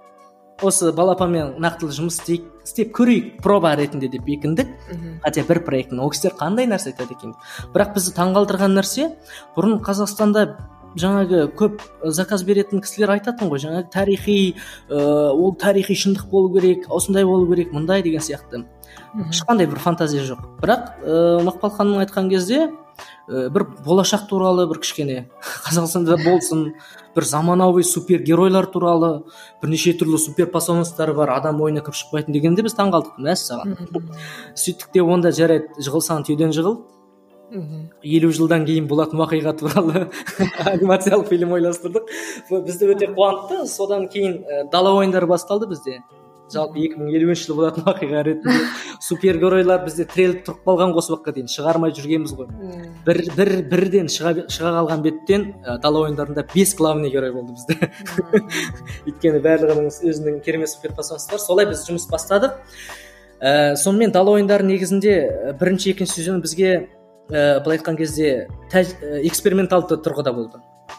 осы Балапанмен нақтылы жұмыс істеп көрейік, проба ретінде деп бекіндік. Хотя бір проекттің ол кісілер қандай нәрсе айтады екен. Бірақ бізді таңғалдырған нәрсе, бұрын Қазақстанда жаңағы көп заказ беретін кісілер айтатын ғой, жаңағы тарихи, ол тарихи шындық болу керек, осындай болу керек, мындай деген сияқты. Ешқандай бір фантазия жоқ. Бірақ Мақпал ханым айтқан кезде бір болашақ туралы бір кішкене Қазақстанда болсын, бір заманауи супергеройлар туралы, бірнеше түрлі супер пасоныстары бар, адам ойына кіріп шықпайтын дегенде біз таңғалдық. Мәссаған. Сөйттік те онда жарайды, жығылсаң түйеден жығыл. елу жылдан кейін болатын уақиға туралы анимациялық фильм ойластырдық. Бізді өте қуантты. Содан кейін дала ойындары басталды бізде. Жалпы екі мың елуінші жылы болатын уақиға ретінде супергеройлар бізде тіреліп тұрып қалған осы уақытқа дейін шығармай жүргенбіз ғой. Бір бір бірден шыға, шыға қалған беттен дала ойындарында бес главный герой болды бізде. Өйткені барлығының өзінің керемет суперпасонстар. Солай біз жұмыс бастадық. Ә, сонымен дала ойындары негізінде бірінші екінші сезон бізге ә, былай айтқан кезде тәж, ә, эксперименталды тұрғыда болды.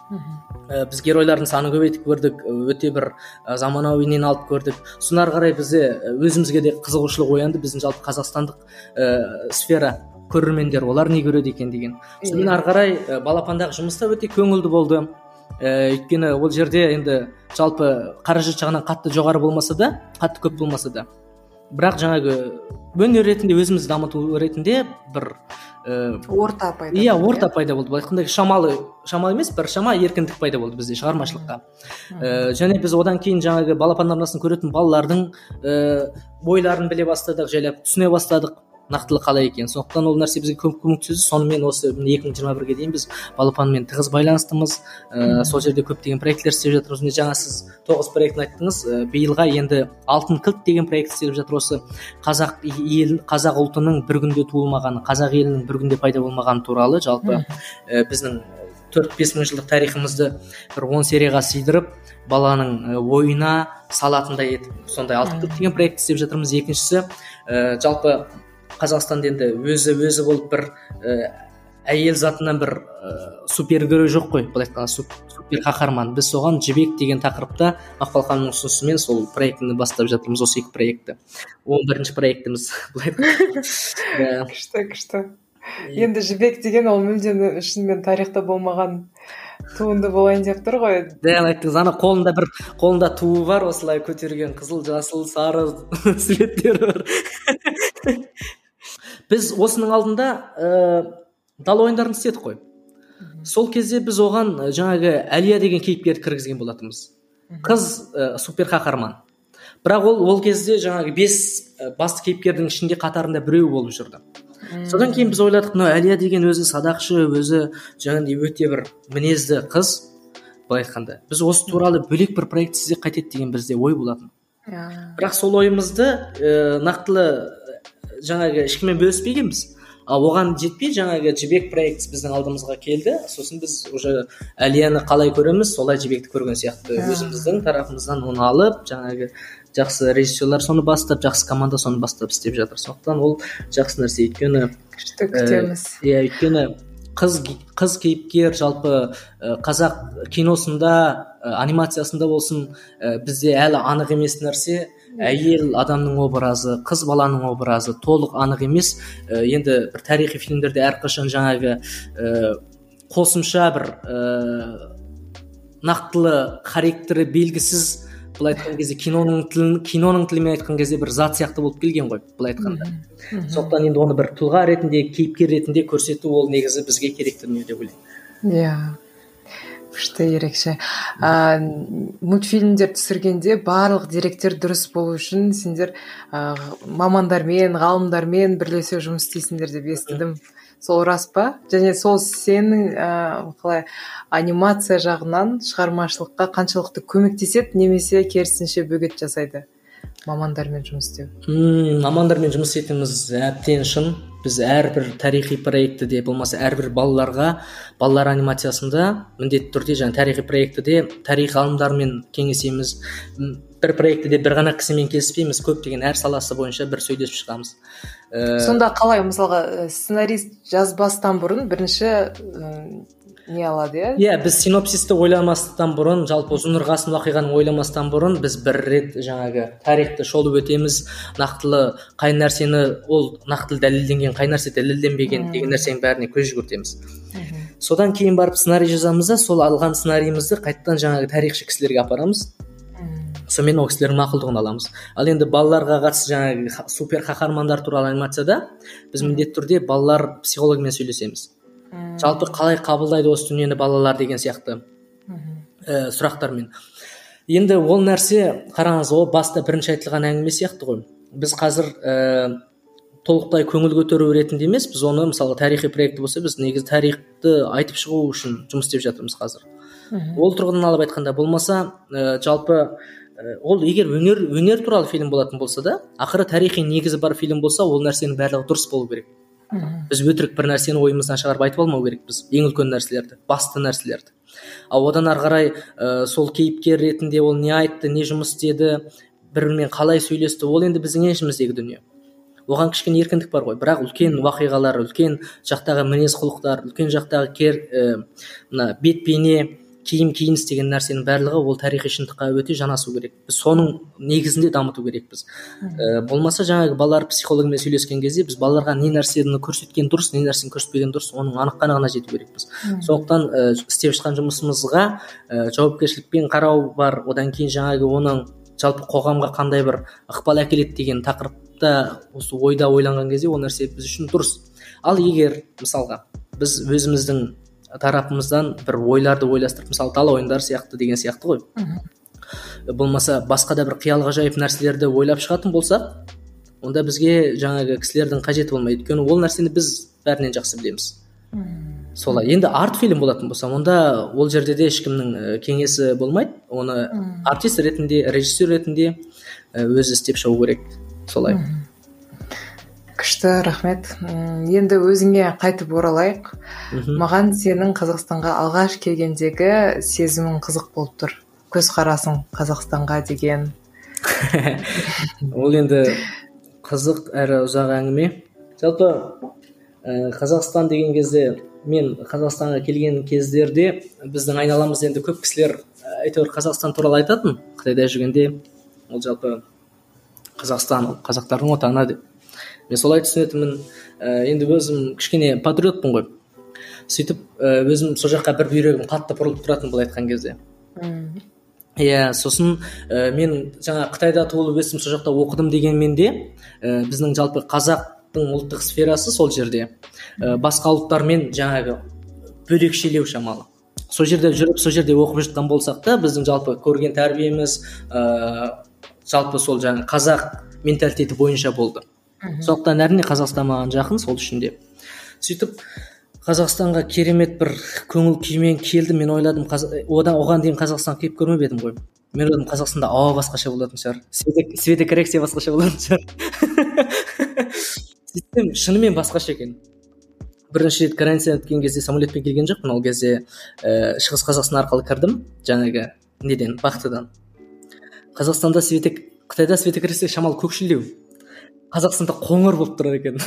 Ә, біз геройлардың санын көбейтіп көрдік, өте бір ә, заманауинен алып көрдік. Сонар қарай бізде өзімізге де қызығушылық оянды, біздің жалпы қазақстандық ә, сфера көрермендер олар не көреді екен деген. Сонымен ары қарай ә, Балапандағы жұмыста өте көңілді болды. Ә, өйткені ол жерде енді жалпы қаражат жағынан қатты жоғары болмаса да, қатты көп болмаса да, бірақ жаңағы өнер ретінде өзімізді дамыту ретінде бір орта пайда иә орта пайда болды. Былай айтқанда шамалы шамалы емес, бір шама еркіндік пайда болды бізде шығармашылыққа. Және біз одан кейін жаңағы балапан арнасын көретін балалардың бойларын біле бастадық, жайлап түсіне бастадық нақтылы қалай екен. Сондықтан ол нәрсе бізге көп көмектесті. Сонымен осы екі мың жиырма бірге дейін біз балапанмен тығыз байланыстымыз. Ә, сол жерде көптеген проекттер істеп жатырмыз. Міне жаңа сіз тоғыз проектін айттыңыз. Ә, биылға енді алтын кілт деген проект істеп жатыр. Осы қазақ ел, қазақ ұлтының бір күнде туылмағаны, қазақ елінің бір күнде пайда болмағаны туралы жалпы ә, біздің төрт бес мың жылдық тарихымызды бір он серияға сыйдырып, баланың ойына салатындай етіп сондай алтын кілт деген проект істеп жатырмыз. Екіншісі ә, жалпы Қазақстанда енді өзі өзі болып бір ә, әйел затынан бір ә, супергерой жоқ қой, былай айтқанда супер қаһарман. Біз соған жібек деген тақырыпта Мақпал ханымның ұсынысымен сол проектіні бастап жатырмыз, осы екі проектті. он бірінші проектіміз былай айтқанда. Күшті, күшті. Енді жібек деген ол мүлдем шынымен тарихта болмаған туынды болайын деп тұр ғой. Дәл айттыңыз, ана қолында бір қолында туы бар, осылай көтерген қызыл, жасыл, сары суреттер бар. Біз осының алдында ә, дала ойындарын істедік қой. Сол кезде біз оған жаңағы Әлия деген кейіпкерді кіргізген болатынбыз. Қыз ә, супер қаһарман. Бірақ ол ол кезде жаңағы бес ә, басты кейіпкердің ішінде қатарында біреу болып жүрді. Содан кейін біз ойладық, мынау Әлия деген өзі садақшы, өзі жаңағыдай өте бір мінезді қыз, былай айтқанда. Біз осы туралы бөлек бір проект істесек қайтеді деген бізде ой болатын. Бірақ сол ойымызды ә, нақтылы жаңағы ешкіммен бөліспегенбіз. А оған жетпей жаңағы жібек проект біздің алдымызға келді. Сосын біз уже Әлияны қалай көреміз, солай жібекті көрген сияқты. Өзіміздің тарапымыздан оны алып, жаңағы жақсы режиссерлар соны бастап, жақсы команда соны бастап істеп жатыр. Сондықтан ол жақсы нәрсе. Өйткені күшті күтеміз. Иә, өйткені қыз қыз кейіпкер жалпы қазақ киносында, анимациясында болсын, бізде әлі анық емес нәрсе. Әйел адамның образы, қыз баланың образы толық анық емес. Енді бір тарихи фильмдерде әрқашан жаңағы қосымша бір нақтылы характері белгісіз, былай айтқан кезде киноның тілін киноның тілімен айтқан кезде бір зат сияқты болып келген ғой, былай айтқанда. Сондықтан енді оны бір тұлға ретінде, кейіпкер ретінде көрсету ол негізі бізге керекті дүние деп ойлаймын. Иә. Күшті, ерекше. ә, мультфильмдер түсіргенде барлық деректер дұрыс болу үшін сендер ә, мамандармен, ғалымдармен бірлесе жұмыс істейсіңдер деп естідім. Сол рас па? Және сол сенің ә, қалай анимация жағынан шығармашылыққа қаншалықты көмектеседі, немесе керісінше бөгет жасайды мамандармен жұмыс істеу? Hmm, мамандармен жұмыс етеміз әбден шын. Біз әрбір тарихи проекті де болмаса әрбір балаларға, балалар анимациясында міндетті түрде жаңа тарихи проекті де тарих ғалымдарымен кеңесеміз. Бір проекті де бір ғана кісімен келіспейміз, көптеген әр саласы бойынша бір сөйлесіп шығамыз. Сонда қалай, мысалға сценарист жазбастан бұрын бірінші не алады, иә? Иә, біз синопсисті ойламастан бұрын, жалпы ұзын ырғасын уақиғаны ойламастан бұрын біз бір рет жаңағы тарихты шолып өтеміз, нақтылы қай нәрсені ол нақтылы дәлелденген, қай нәрсе дәлелденбеген деген нәрсенің бәріне көз жүгіртеміз. Содан кейін барып сценарий жазамыз да, сол алған сценарийімізді қайтадан жаңағы тарихшы кісілерге апарамыз. Сонымен ол кісілердің мақұлдығын аламыз. Ал енді балаларға қатысты жаңағы супер қаһармандар туралы анимацияда біз міндетті түрде балалар психологымен сөйлесеміз. Жалпы қалай қабылдайды осы дүниені балалар деген сияқты ә, сұрақтармен. Енді ол нәрсе, қараңыз, ол баста бірінші айтылған әңгіме сияқты ғой. Біз қазір ә, толықтай көңіл көтеру ретінде емес, біз оны мысалы тарихи проекті болса, біз негізі тарихты айтып шығу үшін жұмыс істеп жатырмыз қазір. Ол тұрғыдан алып айтқанда болмаса, ә, жалпы ә, ол егер өнер өнер туралы фильм болатын болса да, ақыры тарихи негізі бар фильм болса, ол нәрсенің барлығы дұрыс болу керек. Біз өтірік бір нәрсені ойымыздан шығарып айтып алмау керекпіз, ең үлкен нәрселерді, басты нәрселерді. Ал одан ары қарай ә, сол кейіпкер ретінде ол не айтты, не жұмыс істеді, бір-бірімен қалай сөйлесті, ол енді біздің еншіміздегі дүние. Оған кішкене еркіндік бар ғой, бірақ үлкен уақиғалар, үлкен жақтағы мінез құлықтар, үлкен жақтағы кер ә, мына бет бейне, киім киініс деген нәрсенің барлығы ол тарихи шындыққа өте жанасу керек. Біз соның негізінде дамыту керекпіз. Ә, болмаса жаңағы балалар психологымен сөйлескен кезде біз балаларға не нәрсені көрсеткен дұрыс, не нәрсені көрсетпеген дұрыс, оның анық қанығына жету керекпіз. Сондықтан ә, істеп шыққан жұмысымызға ә, жауапкершілікпен қарау бар. Одан кейін жаңағы оның жалпы қоғамға қандай бір ықпал әкеледі деген тақырыпта осы ойда ойланған кезде ол нәрсе біз үшін дұрыс. Ал егер мысалға біз өзіміздің тарапымыздан бір ойларды ойластырып, мысалы дала ойындары сияқты деген сияқты ғой, болмаса басқа да бір қиял ғажайып нәрселерді ойлап шығатын болсақ, онда бізге жаңағы кісілердің қажеті болмайды, өйткені ол нәрсені біз бәрінен жақсы білеміз. Солай. Енді арт фильм болатын болса, онда ол жерде де ешкімнің кеңесі болмайды, оны артист ретінде, режиссер ретінде өзі істеп шығу керек. Солай. Күшті, рахмет. Енді өзіңе қайтып оралайық. Маған сенің Қазақстанға алғаш келгендегі сезімің қызық болып тұр. Көзқарасың Қазақстанға деген. Ол енді қызық әрі ұзақ әңгіме. Жалпы Қазақстан деген кезде, мен Қазақстанға келген кездерде біздің айналамызда енді көп кісілер әйтеуір Қазақстан туралы айтатын. Қытайда жүргенде ол жалпы Қазақстан қазақтардың отаны деп. Мен солай түсінетінмін. Енді өзім кішкене патриотпын ғой. Сөйтіп өзім сол жаққа бір бүйрегім қатты бұрылып тұратын бұл айтқан кезде. Иә, сосын мен жаңа Қытайда туылып өстім, сол жақта оқыдым дегенмен де біздің жалпы қазақтың ұлттық сферасы сол жерде басқа ұлттармен жаңағы бөлекшелеу шамалы. Сол жерде жүріп, сол жерде оқып жатқан болсақ та, біздің жалпы көрген тәрбиеміз жалпы сол жаңа қазақ менталитеті бойынша болды. Сондықтан әрине Қазақстан маған жақын, сол үшін де. Сөйтіп Қазақстанға керемет бір көңіл күймен келдім. Мен ойладым, одан оған дейін Қазақстан келіп көрмеп едім ғой. Мен ойладым, Қазақстанда ауа басқаша болатын шығар, светокоррекция басқаша болатын шығар. Сөйтсем, шынымен басқаша екен. Бірінші рет карантин өткен кезде самолетпен келген жоқпын, ол кезде Шығыс Қазақстан арқылы кірдім, жаңағы неден, Бақтыдан. Қазақстанда светок, Қытайда светокоррекция шамалы көкшілдеу. Қазақстанда қоңыр болып тұрады екен.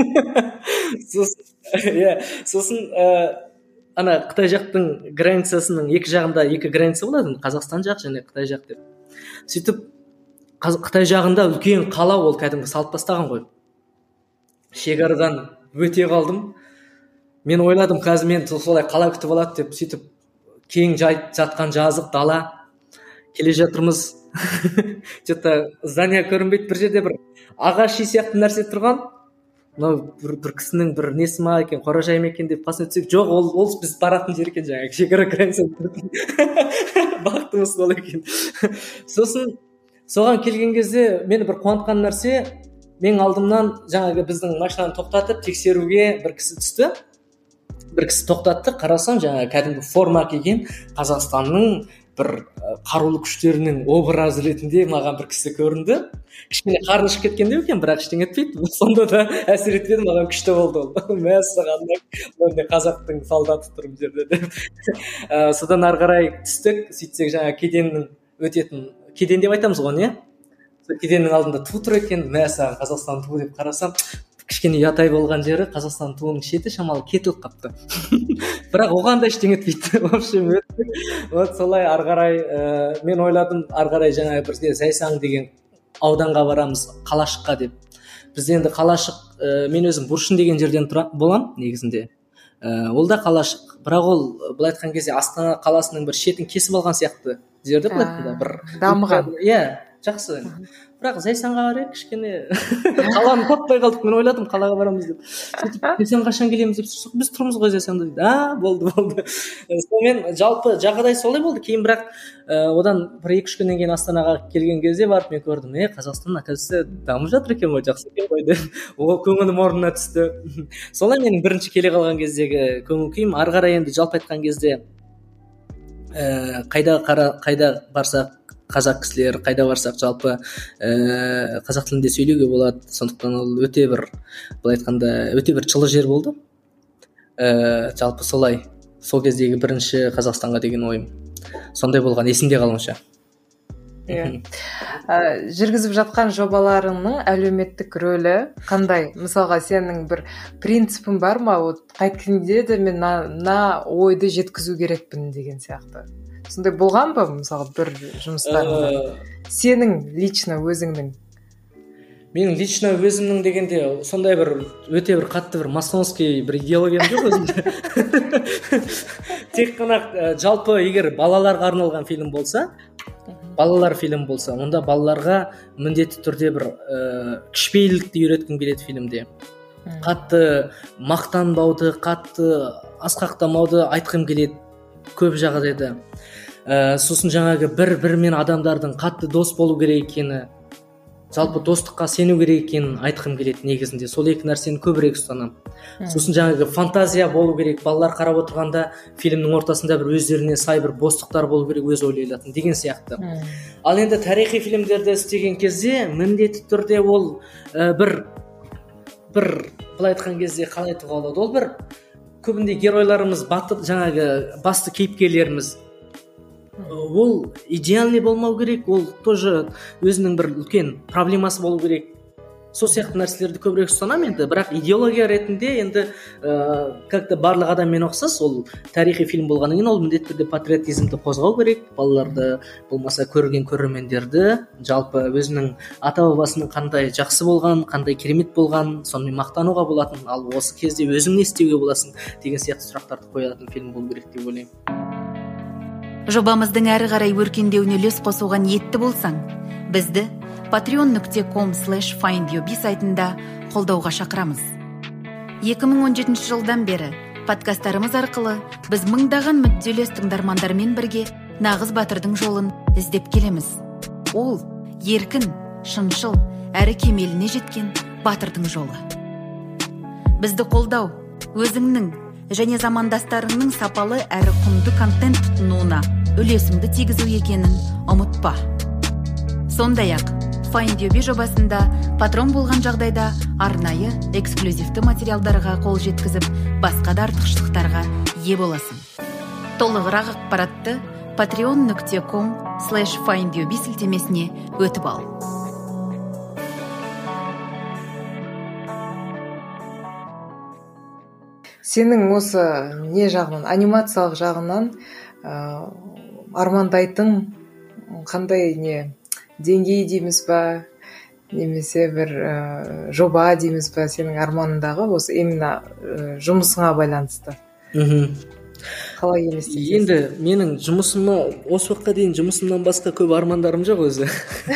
Сосын, сосын ана Қытай жақтың границасының екі жағында екі граница болады, Қазақстан жақ және Қытай жақ деп. Сөйтіп Қытай жағында үлкен қала, ол кәдімгі салып тастаған ғой. Шекарадан өте қалдым. Мен ойладым, қазір мен солай қала күтіп алады деп. Сөйтіп кең жатқан жазық дала, келе жатырмыз. Что-то здание көрінбейді, бір жерде бір ағаш сияқты нәрсе тұрған. Мынау бір, бір кісінің бір несі ма екен, қоражай ма екен деп қасына түсек, жоқ, ол, ол біз баратын жер екен, жаңағы шекара граница. Бақтымыз сол екен. Сосын соған келген кезде мені бір қуантқан нәрсе, мен алдымнан жаңағы біздің машинаны тоқтатып тексеруге бір кісі түсті. Бір кісі тоқтатты, қарасам жаңағы кәдімгі форма киген Қазақстанның бір қарулы күштерінің образы ретінде маған бір кісі көрінді. Кішкене қарны шығып кеткендей екен, бірақ ештеңе етпейді. Сонда да әсер етпеді, маған күшті болды ол. Мәссаған, мен қазақтың солдаты тұр бұл жерде деп. Содан ары қарай түстік, сөйтсек жаңағы кеденнің өтетін, кеден деп айтамыз ғой, не? Кеденнің алдында ту тұр екен, мәссаған, Қазақстан туы деп қарасам, кішкене ұятай болған жері Қазақстан туының шеті шамалы кетіліп қапты. Бірақ оған да ештеңе етпейді. В общем, вот солай ары қарай мен ойладым, ары қарай жаңағы бірде Зайсан деген ауданға барамыз, қалашыққа деп. Біз енді қалашық, мен өзім Бұршын деген жерден болам негізінде. Ол да қалашық, бірақ ол былай айтқан кезде Астана қаласының бір шетін кесіп алған сияқты жерде былай бір дамыған. Иә, жақсы. Бірақ Зайсанға барайық, кішкене қаланы таппай қалдық. Мен ойладым, қалаға барамыз деп. Сөйтіп, Зайсан қашан келеміз деп, біз тұрмыз ғой Зайсанда дейді. А, болды, болды. Сонымен жалпы жағдай солай болды. Кейін бірақ одан бір екі үш күннен кейін Астанаға келген кезде барып мен көрдім, е, Қазақстан оказывается дамып жатыр екен ғой, жақсы екен ғой деп. Ол көңілім орнына түсті. Солай менің бірінші келе қалған кездегі көңіл күйім. Ары қарай енді жалпы айтқан кезде қайда қайда барсақ қазақ кісілер, қайда барсақ жалпы ә, қазақ тілінде сөйлеуге болады. Сондықтан ол өте бір, былай айтқанда, өте бір жылы жер болды. Ә, жалпы солай, сол кездегі бірінші Қазақстанға деген ойым сондай болған, есімде қалуынша. Иә. Жүргізіп жатқан жобаларыңның әлеуметтік рөлі қандай? Мысалға, сенің бір принципің бар ма? Қайткенде де мен на ойды жеткізу керекпін деген сияқты. Сондай болған ба, мысалы, бір жұмыстарыңда? Сенің лично өзіңнің? Менің лично өзімнің дегенде сондай бір өте бір қатты бір масонский бір идеологиям жоқ өзімде. Тек қана жалпы егер балаларға арналған фильм болса, балалар фильм болса, онда балаларға міндетті түрде бір ә, кішіпейілдікті үйреткім келеді фильмде. қатты мақтанбауды, қатты асқақтамауды айтқым келеді көп жағдайда. ә, сосын жаңағы бір бірімен адамдардың қатты дос болу керек екені, жалпы достыққа сену керек екенін айтқым келеді негізінде. Сол екі нәрсені көбірек ұстанамын. Сосын жаңағы фантазия болу керек, балалар қарап отырғанда фильмнің ортасында бір өздеріне сай бір бостықтар болу керек, өз ойлайлатын деген сияқты. Ал енді тарихи фильмдерді істеген кезде міндетті түрде ол ә, бір бір былай айтқан кезде қалай айтуға болады, ол бір көбінде геройларымыз, батыр жаңағы басты кейіпкерлеріміз ол идеальный болмау керек, ол тоже өзінің бір үлкен проблемасы болу керек. Сол сияқты нәрселерді көбірек ұстанамын енді, бірақ идеология ретінде енді ә, как-то барлық адаммен ұқсас, ол тарихи фильм болғаннан кейін ол міндетті түрде патриотизмді қозғау керек, балаларды болмаса көрген көрермендерді жалпы өзінің ата бабасының қандай жақсы болған, қандай керемет болған, сонымен мақтануға болатын, ал осы кезде өзің не істеуге боласың деген сияқты сұрақтарды қоятын фильм болу керек деп ойлаймын. Жобамыздың әрі қарай өркендеуіне үлес қосуға ниетті болсаң, бізді patreon нүкте ком слэш файндюби сайтында қолдауға шақырамыз. екі мың он жетінші жылдан бері подкасттарымыз арқылы біз мыңдаған мүдделес тыңдармандармен бірге нағыз батырдың жолын іздеп келеміз. Ол еркін, шыншыл, әрі кемеліне жеткен батырдың жолы. Бізді қолдау, өзіңнің және замандастарыңның сапалы әрі құнды контент тұтынуына үлесіңді тигізу екенін ұмытпа. Сондай-ақ, Файндюби жобасында патрон болған жағдайда арнайы эксклюзивті материалдарға қол жеткізіп, басқа да артықшылықтарға ие боласың. Толығырақ ақпаратты patreon нүкте ком слэш файндюби сілтемесіне өтіп ал. Сенің осы не жағынан, анимациялық жағынан ә, армандайтын қандай не деңгей дейміз ба, немесе бір ә, жоба дейміз ба, сенің арманындағы осы именно ә, жұмысыңа байланысты? Мхм. Қалай елестетесің? Енді менің жұмысыма осы уақытқа дейін жұмысымнан басқа көп армандарым жоқ өзі.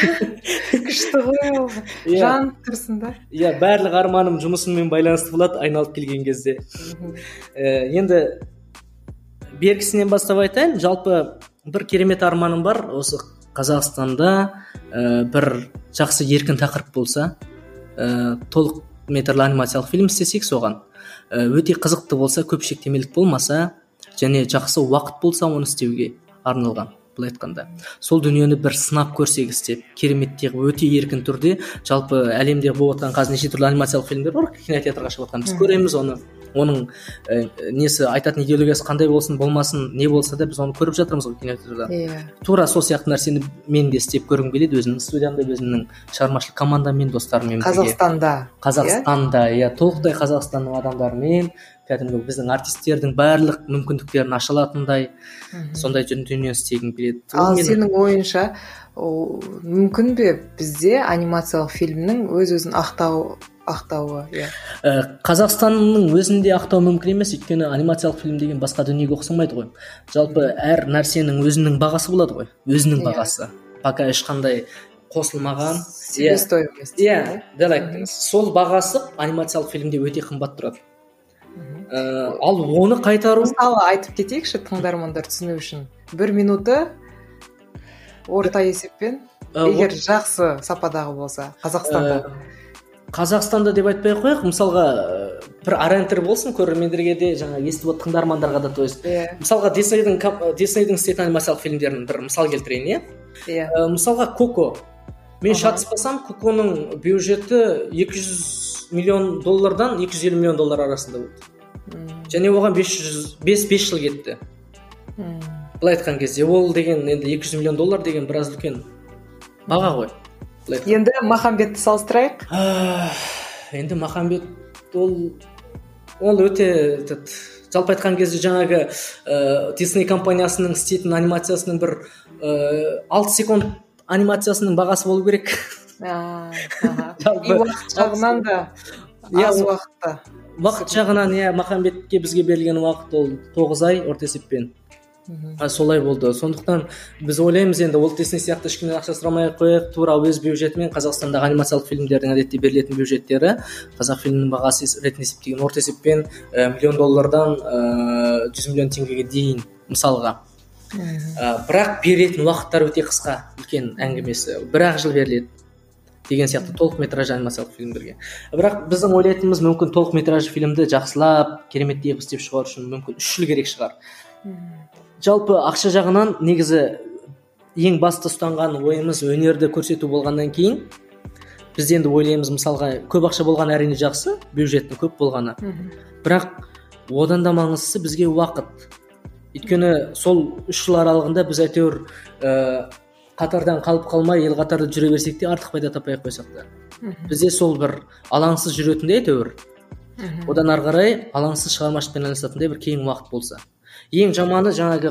Күшті ғой ол. Жан тұрсын да. Иә, барлық арманым жұмысыммен байланысты болады айналып келген кезде. Ә, енді бергісінен бастап айтайын, жалпы бір керемет арманым бар. Осы Қазақстанда ә, бір жақсы еркін тақырып болса, ә, толық метрлі анимациялық фильм істесек соған. Ә, өте қызықты болса, көп шектемелік болмаса, және жақсы уақыт болса оны істеуге арналған. Былай айтқанда, сол дүниені бір сынап көрсек істеп, кереметтегі өте еркін түрде, жалпы әлемде болып жатқан қазір неше түрлі анимациялық фильмдер бар, кинотеатрға шығып жатқан, біз көреміз оны. Оның ә, несі айтатын идеологиясы қандай болсын, болмасын, не болса да біз оны көріп жатырмыз ғой кинотеатрда. Yeah. Тура сол сияқты нәрсені мен де істеп көргім келеді, өзімнің студиямда, өзімнің шығармашылық командаммен, достарыммен бірге. Қазақстанда. Қазақстанда, иә, толықтай Қазақстанның адамдарымен, кәдімгі біздің артистердің барлық мүмкіндіктерін аша алатындай, сондай дүние істегім келеді. Ал сенің ойынша мүмкін бе бізде анимациялық фильмнің өз-өзін ақтау ақтауы? Иә. Қазақстанның өзінде ақтау мүмкін емес, өйткені анимациялық фильм деген басқа дүниеге ұқсамайды ғой. Жалпы әр нәрсенің өзінің бағасы болады ғой, өзінің бағасы. Пока ешқандай қосылмаған. Себестоимость. Иә, дәл айттыңыз. Сол бағасы анимациялық фильмде өте қымбат тұрады. Ә, ал оны қайтару, мысалы айтып кетейікші тыңдармандар түсіну үшін, бір минуты орта есеппен егер жақсы сападағы болса Қазақстанда Қазақстанда деп айтпай ақ қояйық, мысалға бір ориентир болсын көрермендерге де, жаңа естіп отқан тыңдармандарға да, то есть мысалға Диснейдің Диснейдің істейтін анимациялық фильмдерін бір мысал келтірейін, иә. Мысалға Коко, мен шатыспасам, Коконың бюджеті екі жүз миллион доллардан екі жүз елу миллион доллар арасында болды. Және оған бес жыл кетті. Былай айтқан кезде, ол деген енді екі жүз миллион доллар деген біраз үлкен баға ғой. Енді Махамбетті салыстырайық. Енді Махамбет ол ол өте жалпы айтқан кезде жаңағы Disney компаниясының істейтін анимациясының бір алты секунд анимациясының бағасы болу керек. И уақыт жағынан да аз уақытта. Уақыт жағынан, иә, Махамбетке бізге берілген уақыт ол тоғыз ай орта есеппен. солай болды. Сондықтан біз ойлаймыз енді Уолт Дисней сияқты ешкімнен ақша сұрамай ақ қояйық, тура өз бюджетімен Қазақстандағы анимациялық фильмдердің әдетте берілетін бюджеттері қазақ фильмінің бағасы ретінде есептеген орта есеппен миллион доллардан жүз миллион теңгеге дейін мысалға. Бірақ беретін уақыттар өте қысқа, үлкен әңгімесі бір ақ жыл беріледі деген сияқты толық метражды анимациялық фильмдерге. Бірақ біздің ойлайтынымыз, мүмкін толық метражды фильмді жақсылап кереметтей қылып істеп шығару үшін мүмкін үш жыл керек шығар. Жалпы ақша жағынан негізі ең басты ұстанған ойымыз өнерді көрсету болғаннан кейін біз енді ойлаймыз, мысалға көп ақша болған әрине жақсы, бюджеттің көп болғаны. Бірақ одан да маңыздысы бізге уақыт. Өйткені сол үш жыл аралығында біз әйтеуір ә, қатардан қалып қалмай ел қатарда жүре берсек те артық пайда таппай ақ қойсақ та. Бізде сол бір алаңсыз жүретіндей әйтеуір. Одан ары қарай алаңсыз шығармашылықпен айналысатындай бір кейін уақыт болса. Ең жаманы жаңағы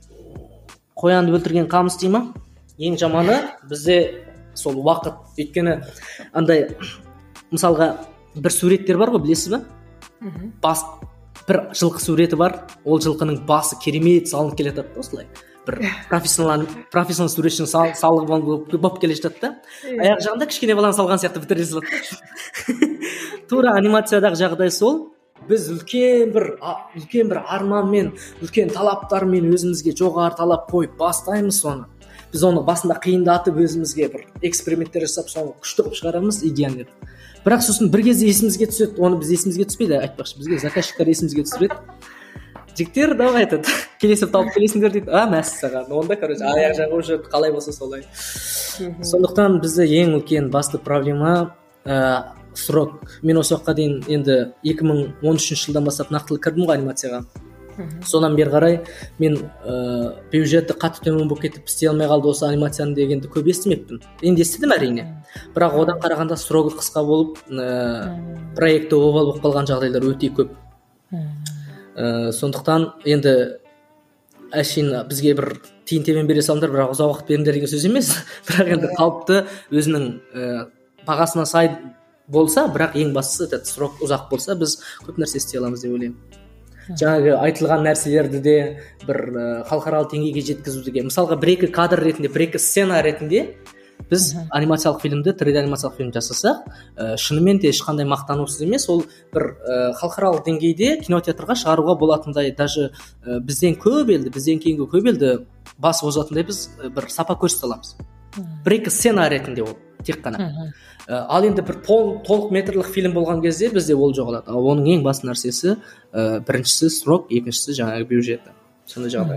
қоянды өлтірген қамыс дей ма? Ең жаманы бізде сол уақыт. Өйткені андай мысалға бір суреттер бар ғой, білесіз ба? Бас бір жылқы суреті бар. Ол жылқының басы керемет салынып келе жатады осылай. Бір профессионал профессионал суретшінің салығы болып келе жатады да. Аяқ жағында кішкене баланы салған сияқты бітіре салады. Тура анимациядағы жағдай сол. Біз үлкен бір үлкен бір арманмен, үлкен талаптармен өзімізге жоғары талап қойып бастаймыз соны. Біз оны басында қиындатып өзімізге бір эксперименттер жасап соны күшті қылып шығарамыз идеяны. Бірақ сосын бір кезде есімізге түседі, оны біз есімізге түспейді, айтпақшы, бізге заказчиктер есімізге түсіреді. Жігіттер давай айтады, келесі тауып келесіңдер дейді. А, мәссаған. Онда короче аяқ жағы уже қалай болса солай. Сондықтан бізде ең үлкен басты проблема срок. Мен осы уақытқа дейін енді екі мың он үшінші жылдан бастап нақтылы кірдім ғой анимацияға. Содан бері қарай мен ә, бюджеті қатты төмен болып кетіп істей алмай қалды осы анимацияны дегенді көп естімеппін. Енді естідім әрине. Бірақ одан қарағанда срогі қысқа болып, ә, проекті обал болып қалған жағдайлар өте көп. Ә, сондықтан енді әшейін бізге бір тиын тебен бере салыңдар, бірақ ұзақ уақыт беріңдер деген сөз емес. Бірақ енді қалыпты өзінің ә, бағасына сай болса, бірақ ең бастысы этот срок ұзақ болса, біз көп нәрсе істей аламыз деп ойлаймын. Жаңағы айтылған нәрселерді де бір ә, халықаралық деңгейге жеткізуге, мысалға бір-екі кадр ретінде, бір-екі сцена ретінде біз анимациялық фильмді, три дэ анимациялық фильм жасасақ, ә, шынымен де ешқандай мақтанусыз емес, ол бір ә, халықаралық деңгейде кинотеатрға шығаруға болатындай, даже ә, бізден көп елді, бізден кейінгі көп елді басып озатындай біз ә, бір сапа көрсете аламыз. Бір-екі сцена ретінде ол тек қана. Ал енді бір толық метрлік фильм болған кезде бізде ол жоғалады. Ал оның ең басты нәрсесі ә, біріншісі срок, екіншісі жаңағы бюджеті. Сондай жағдай.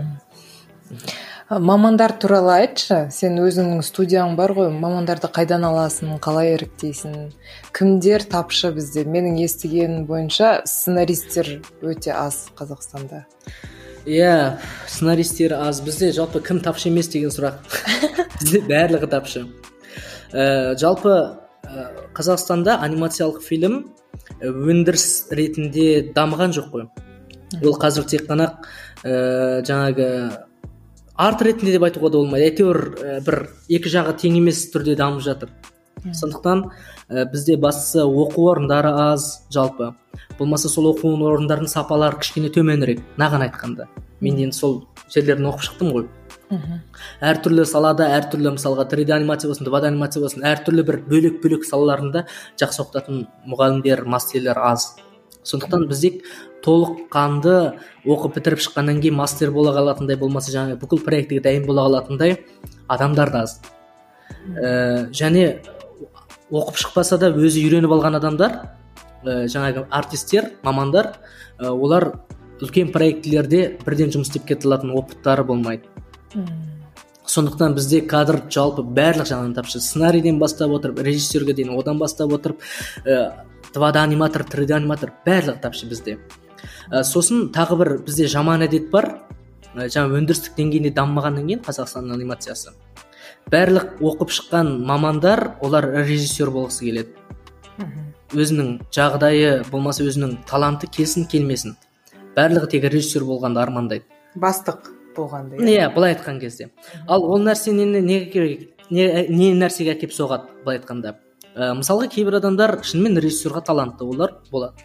Мамандар туралы айтшы. Сен өзіңнің студияң бар ғой, мамандарды қайдан аласың, қалай іріктейсің? Кімдер тапшы бізде? Менің естігенім бойынша сценаристер өте аз Қазақстанда. Иә, сценаристер аз. Бізде жалпы кім тапшы емес деген сұрақ. Бізде барлығы тапшы. Ә, жалпы Қазақстанда анимациялық фильм өндіріс ретінде дамыған жоқ қой. Ол қазір тек қана ә, жаңағы арт ретінде деп айтуға да болмайды. Әйтеуір ә, бір екі жағы тең емес түрде дамып жатыр. Сондықтан ә, бізде бастысы оқу орындары аз жалпы. Болмаса сол оқу орындарының сапалары кішкене төменірек, наған айтқанда. Мен енді сол жерлерін оқып шықтым ғой. Әртүрлі салада, әртүрлі мысалға три дэ анимация болсын, два дэ анимация болсын, әртүрлі бір бөлек-бөлек салаларында жақсы оқытатын мұғалімдер, мастерлер аз. Сондықтан бізде толыққанды оқып бітіріп шыққаннан кейін мастер бола қалатындай, болмаса жаңағы бүкіл проектіге дайын бола қалатындай адамдар да аз. Ә, және оқып шықпаса да өзі үйреніп алған адамдар, ә, жаңағы артистер, мамандар, ә, олар үлкен проектілерде бірден жұмыс істеп кете алатын опыттары болмайды. Сондықтан бізде кадр жалпы барлық жағынан тапшы. Сценарийден бастап отырып, режиссерге дейін, одан бастап отырып, два дэ аниматор, три дэ аниматор барлық тапшы бізде. Сосын тағы бір бізде жаман әдет бар. Жаңа өндірістік деңгейінде дамымағаннан кейін Қазақстанның анимациясы. Барлық оқып шыққан мамандар, олар режиссер болғысы келеді. Өзінің жағдайы болмаса өзінің таланты келсін келмесін. Барлығы тек режиссер болғанды армандайды. Бастық болғанда. Иә, былай айтқан кезде. Ал ол нәрсе не, не, не, не нәрсеге әкеп соғады былай айтқанда. Ә, мысалға кейбір адамдар шынымен режиссерға талантты олар болады.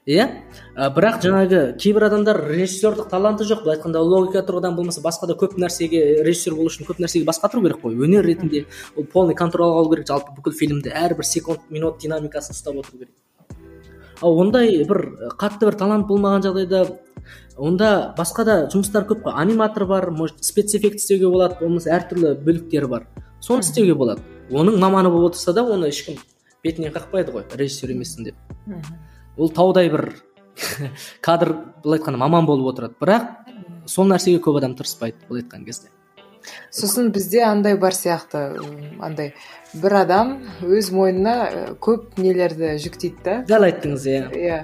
иә. Бірақ жаңағы кейбір адамдар режиссерлік таланты жоқ, былай айтқанда логика тұрғыдан болмаса басқа да көп нәрсеге, режиссер болу үшін көп нәрсеге бас қатыру керек қой. Өнер ретінде ол полный контрол алу керек, жалпы бүкіл фильмді әрбір секунд, минут динамикасын ұстап отыру керек. Ал ондай бір қатты бір талант болмаған жағдайда онда басқа да жұмыстар көп қой. Аниматор бар, может спецэффект істеуге болады, болмаса әртүрлі бөліктері бар. Соны істеуге болады. Оның маманы болып отырса да, оны ешкім бетінен қақпайды ғой, режиссер емессің деп. Ол таудай бір кадр, былай айтқанда маман болып отырады. Бірақ сол нәрсеге көп адам тырыспайды, былай айтқан кезде. Сосын бізде андай бар сияқты, андай бір адам өз мойнына көп нелерді жүктейді да. Дәл айттыңыз, иә. Иә.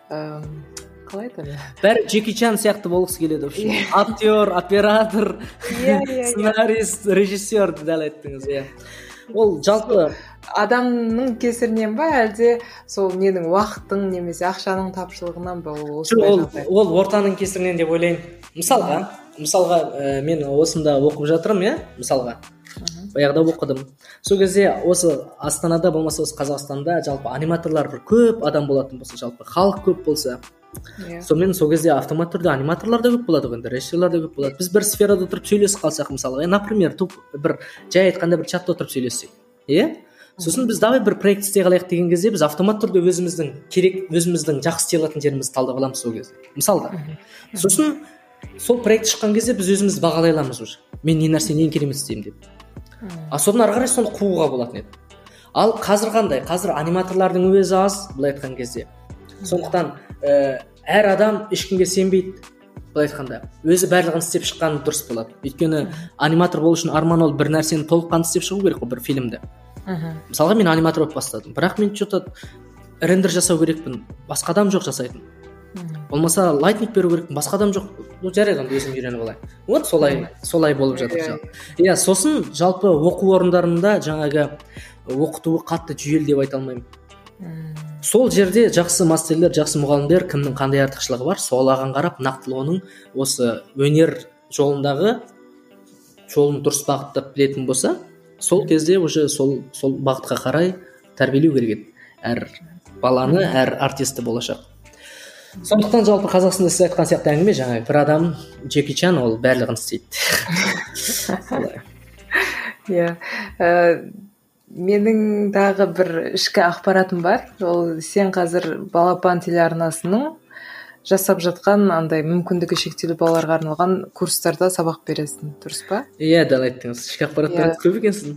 Қалай айтады? Бәрі Джеки Чан сияқты болғысы келеді. Актер, оператор, сценарист, режиссер, дәл айттыңыз, иә. Ол жалпы адамның кесірінен ба, әлде сол ненің уақыттың немесе ақшаның тапшылығынан ба? Ол, ол ортаның кесірінен деп ойлаймын. Мысалға, мысалға ә, мен осында оқып жатырмын, иә, мысалға. Баяғыда оқыдым. Сол кезде осы Астанада болмаса осы Қазақстанда жалпы аниматорлар бір көп адам болатын болса, жалпы халық көп болса, yeah. Сонымен сол кезде автомат түрде аниматорлар да көп болады ғой, режиссерлар да көп болады. Біз бір сферада отырып сөйлесіп қалсақ, мысалға, например, туп бір жай айтқанда бір чатта отырып сөйлессек, иә? Сосын біз давай бір проект істей қалайық деген кезде біз автомат түрде өзіміздің керек, өзіміздің жақсы істей алатын жерімізді талдап аламыз сол кезде. Мысалға. Сосын сол проект шыққан кезде біз өзімізді бағалай аламыз уже. Мен не нәрсені ең керемет істеймін деп. А содан ары қарай соны қууға болатын еді. Ал қазір қандай? Қазір аниматорлардың өзі аз, былай айтқан кезде. Сондықтан ә, әр адам ешкімге сенбейді, былай айтқанда. Өзі барлығын істеп шыққаны дұрыс болады. Өйткені аниматор болу үшін арман ол бір нәрсені толыққанды істеп шығу керек қой, бір фильмді. Мысалға мен аниматор болып бастадым, бірақ мен что-то рендер жасау керекпін, басқа адам жоқ жасайтын. Болмаса лайтнинг беру керекпін, басқа адам жоқ. Ну жарайды, өзім үйреніп алайын. Вот солай, солай болып жатыр. Иә, сосын жалпы оқу орындарында жаңағы оқытуы қатты жүйелі деп айта алмаймын. Сол жерде жақсы мастерлер, жақсы мұғалімдер кімнің қандай артықшылығы бар, солаған қарап нақтылы оның осы өнер жолындағы жолын дұрыс бағыттап білетін болса, сол кезде уже сол сол бағытқа қарай тәрбиелеу керек еді әр баланы, әр артисті болашақ. Сондықтан жалпы Қазақстанда сіз айтқан сияқты әңгіме жаңағы бір адам Джеки Чан ол барлығын істейді. Иә. Менің дағы бір ішкі ақпаратым бар. Ол сен қазір Балапан телеарнасының жасап жатқан андай мүмкіндігі шектеулі балаларға арналған курстарда сабақ бересің, дұрыс па? Иә, дәл айттыңыз. Ішкі ақпараттарыңыз көп екенсің.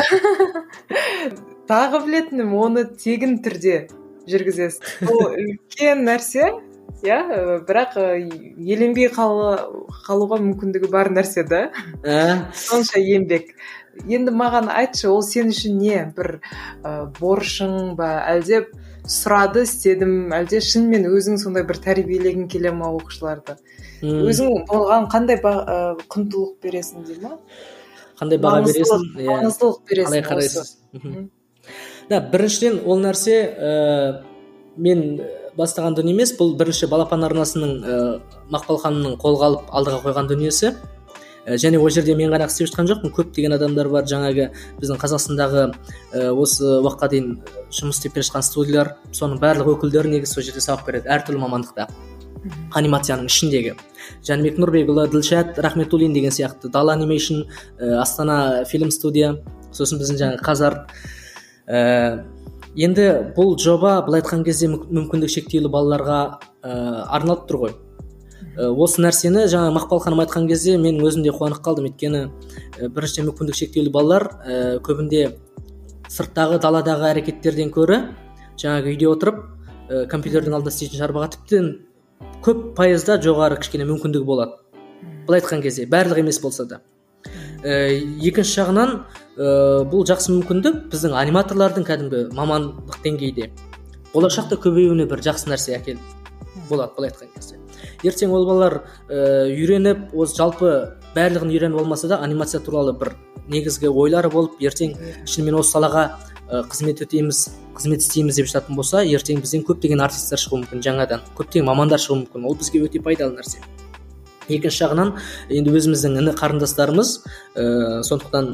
Тағы білетінім, оны тегін түрде жүргізесің. Ол үлкен нәрсе, иә, бірақ еленбей қалуға мүмкіндігі бар нәрсе да. Сонша еңбек. Енді маған айтшы, ол сен үшін не? Бір борышың ба, әлде сұрады, істедім, әлде шынымен өзің сондай бір тәрбиелегің келе ма оқушыларды? Өзің болған қандай құндылық бересің дей ма? Қандай баға бересің? Маңыздылық бересің. Қалай қарайсыз? Да, біріншіден ол нәрсе ә, мен бастаған дүние емес, бұл бірінші Балапан арнасының ә, Мақпал ханымның қолға алып алдыға қойған дүниесі. Ә, және ол жерде мен ғана істеп жатқан жоқпын, көптеген адамдар бар, жаңағы біздің Қазақстандағы ә, осы уақытқа дейін жұмыс істеп келе жатқан студиялар, соның барлық өкілдері негізі сол жерде сабақ береді, әртүрлі мамандықта. Анимацияның ішіндегі. Жәнібек Нұрбекұлы, Ділшат Рахметуллин деген сияқты, Дала анимейшн, ә, Астана фильм студия, сосын біздің жаңағы Қазар. Ә, енді бұл жоба былай айтқан кезде мүмкіндік шектеулі балаларға ә, арналып тұр ғой. Ә, осы нәрсені жаңа Мақпал ханым айтқан кезде мен өзім де қуанып қалдым, өйткені ә, біріншіден мүмкіндік шектеулі балалар ә, көбінде сырттағы даладағы әрекеттерден көрі жаңағы үйде отырып ә, компьютердің алдында істейтін шаруаға тіптен көп пайызда жоғары кішкене мүмкіндігі болады. Былай айтқан кезде барлық емес болса да. Ә, екінші жағынан ә, бұл жақсы мүмкіндік біздің аниматорлардың кәдімгі мамандық деңгейде болашақта көбеюіне бір жақсы нәрсе әкеліп болады, былай айтқан кезде. Ертең ол балалар ә, үйреніп, осы жалпы барлығын үйреніп болмаса да анимация туралы бір негізгі ойлары болып, ертең шынымен осы салаға ә, қызмет өтейміз, қызмет істейміз деп жататын болса, ертең бізден көптеген артисттер шығуы мүмкін, жаңадан көптеген мамандар шығуы мүмкін. Ол бізге өте пайдалы нәрсе. Екінші жағынан енді өзіміздің іні қарындастарымыз, ә, сондықтан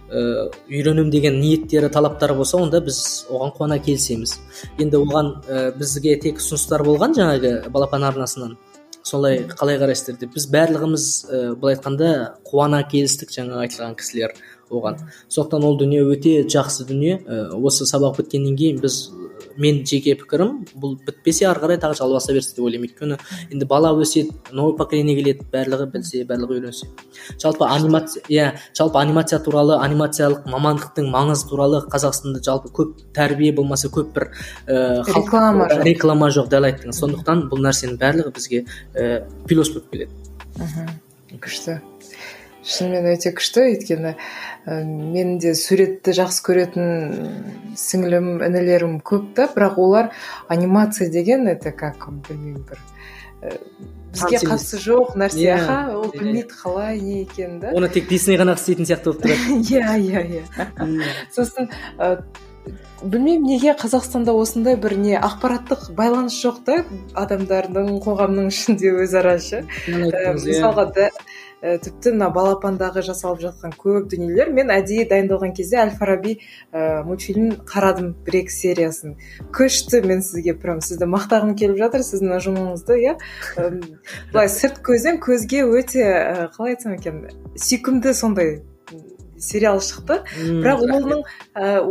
ә, үйренем деген ниеттері, талаптары болса, онда біз оған қуана келісеміз. Енді оған ә, бізге тек ұсыныстар болған жаңағы балапан арнасынан. Солай қалай қарайсыздар деп. Біз барлығымыз ә, былай айтқанда қуана келістік жаңа айтылған кісілер оған. Сондықтан ол дүние өте жақсы дүние. Ә, осы сабақ біткеннен кейін біз, мен жеке пікірім, бұл бітпесе ары қарай тағы жалғаса берсін деп ойлаймын. Өйткені енді бала өседі, новый поколение келеді, барлығы білсе, барлығы үйренсе. Жалпы анимация, иә, жалпы анимация туралы, анимациялық мамандықтың маңызы туралы Қазақстанда жалпы көп тәрбие болмаса, көп бір ә, реклама жоқ. Реклама жоқ, дәл айттыңыз. Сондықтан бұл нәрсенің барлығы бізге ә, плюс болып келеді. Күшті. Шынымен өте күшті, өйткені мен де суретті жақсы көретін сіңілім, інілерім көп та, бірақ олар анимация деген, это как, білмеймін, бір бізге қатысы жоқ нәрсе, аха, ол білмейді қалай не екен да. Оны тек Дисней ғана істейтін сияқты болып тұрады. Иә, иә, иә. Сосын білмеймін, неге Қазақстанда осындай бір не ақпараттық байланыс жоқ та адамдардың, қоғамның ішінде өзара ше. Мысалға да тіпті мына балапандағы жасалып жатқан көп дүниелер, мен әдейі дайындалған кезде Әл-Фараби ә, мультфильмін қарадым, бір-екі сериясын. Күшті, мен сізге прям сізді мақтағым келіп жатыр, сіздің ұжымыңызды, иә. Былай сырт көзден көзге өте ә, қалай айтсам екен, сүйкімді сондай сериал шықты. Бірақ оның ә,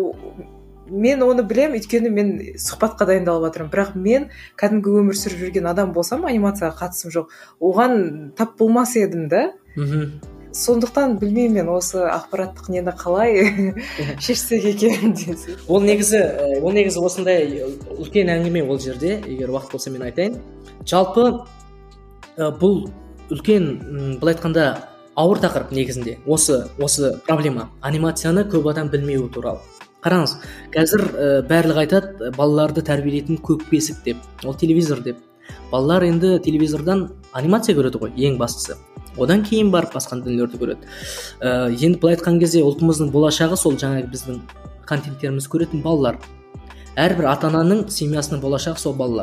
мен оны білем, өйткені мен сұхбатқа дайындалып жатырмын. Бірақ мен кәдімгі өмір сүріп жүрген адам болсам, анимацияға қатысым жоқ. Оған тап болмас едім да. Сондықтан білмеймін мен осы ақпараттық нені қалай шешсек екен десе. Ол негізі, ол негізі осындай үлкен әңгіме ол жерде, егер уақыт болса мен айтайын. Жалпы бұл үлкен, былай айтқанда, ауыр тақырып негізінде. Осы осы проблема. Анимацияны көп адам білмеуі туралы. Қараңыз, қазір ә, барлығы айтады, балаларды тәрбиелейтін көк бесік деп, ол телевизор деп. Балалар енді телевизордан анимация көреді ғой, ең бастысы. Одан кейін барып басқа дүниелерді көреді. Ә, енді былай айтқан кезде ұлтымыздың болашағы сол жаңағы біздің контенттеріміз көретін балалар. Әрбір ата-ананың семьясының болашағы сол балалар.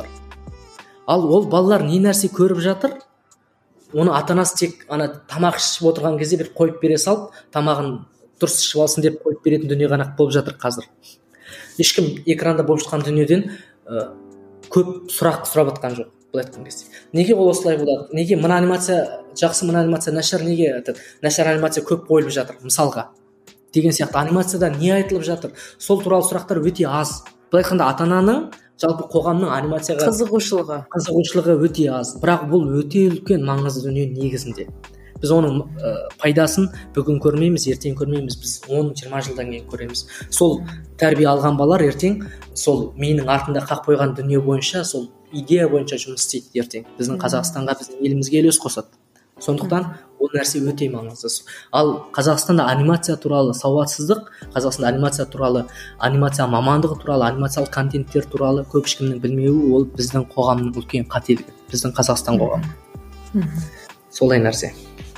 Ал ол балалар не нәрсе көріп жатыр, оны ата-анасы тек ана тамақ ішіп отырған кезде бір қойып бере салып, тамағын дұрыс ішіп алсын деп қойып беретін дүние ғана болып жатыр қазір. Ешкім экранда болып жатқан дүниеден ә, көп сұрақ сұрап жатқан жоқ, былай айтқан кезде. Неге ол осылай болады? Неге мына анимация жақсы, мына анимация нашар, неге нашар анимация көп қойылып жатыр, мысалға? Деген сияқты анимацияда не айтылып жатыр? Сол туралы сұрақтар өте аз. Былай айтқанда ата-ананың, жалпы қоғамның анимацияға қызығушылығы қызығушылығы өте аз. Бірақ бұл өте үлкен маңызды дүние негізінде. Біз оның ә, пайдасын бүгін көрмейміз, ертең көрмейміз, біз он жиырма жылдан кейін көреміз. Сол тәрбие алған балалар ертең сол менің артында қақ қойған дүние бойынша, сол идея бойынша жұмыс істейді ертең. Біздің Қазақстанға, біздің елімізге үлес қосады. Сондықтан ол нәрсе өте маңызды. Ал Қазақстанда анимация туралы сауатсыздық, Қазақстанда анимация туралы, анимация мамандығы туралы, анимациялық контенттер туралы көп ешкімнің білмеуі, ол біздің қоғамның үлкен қателігі, біздің Қазақстан қоғамы. Солай нәрсе.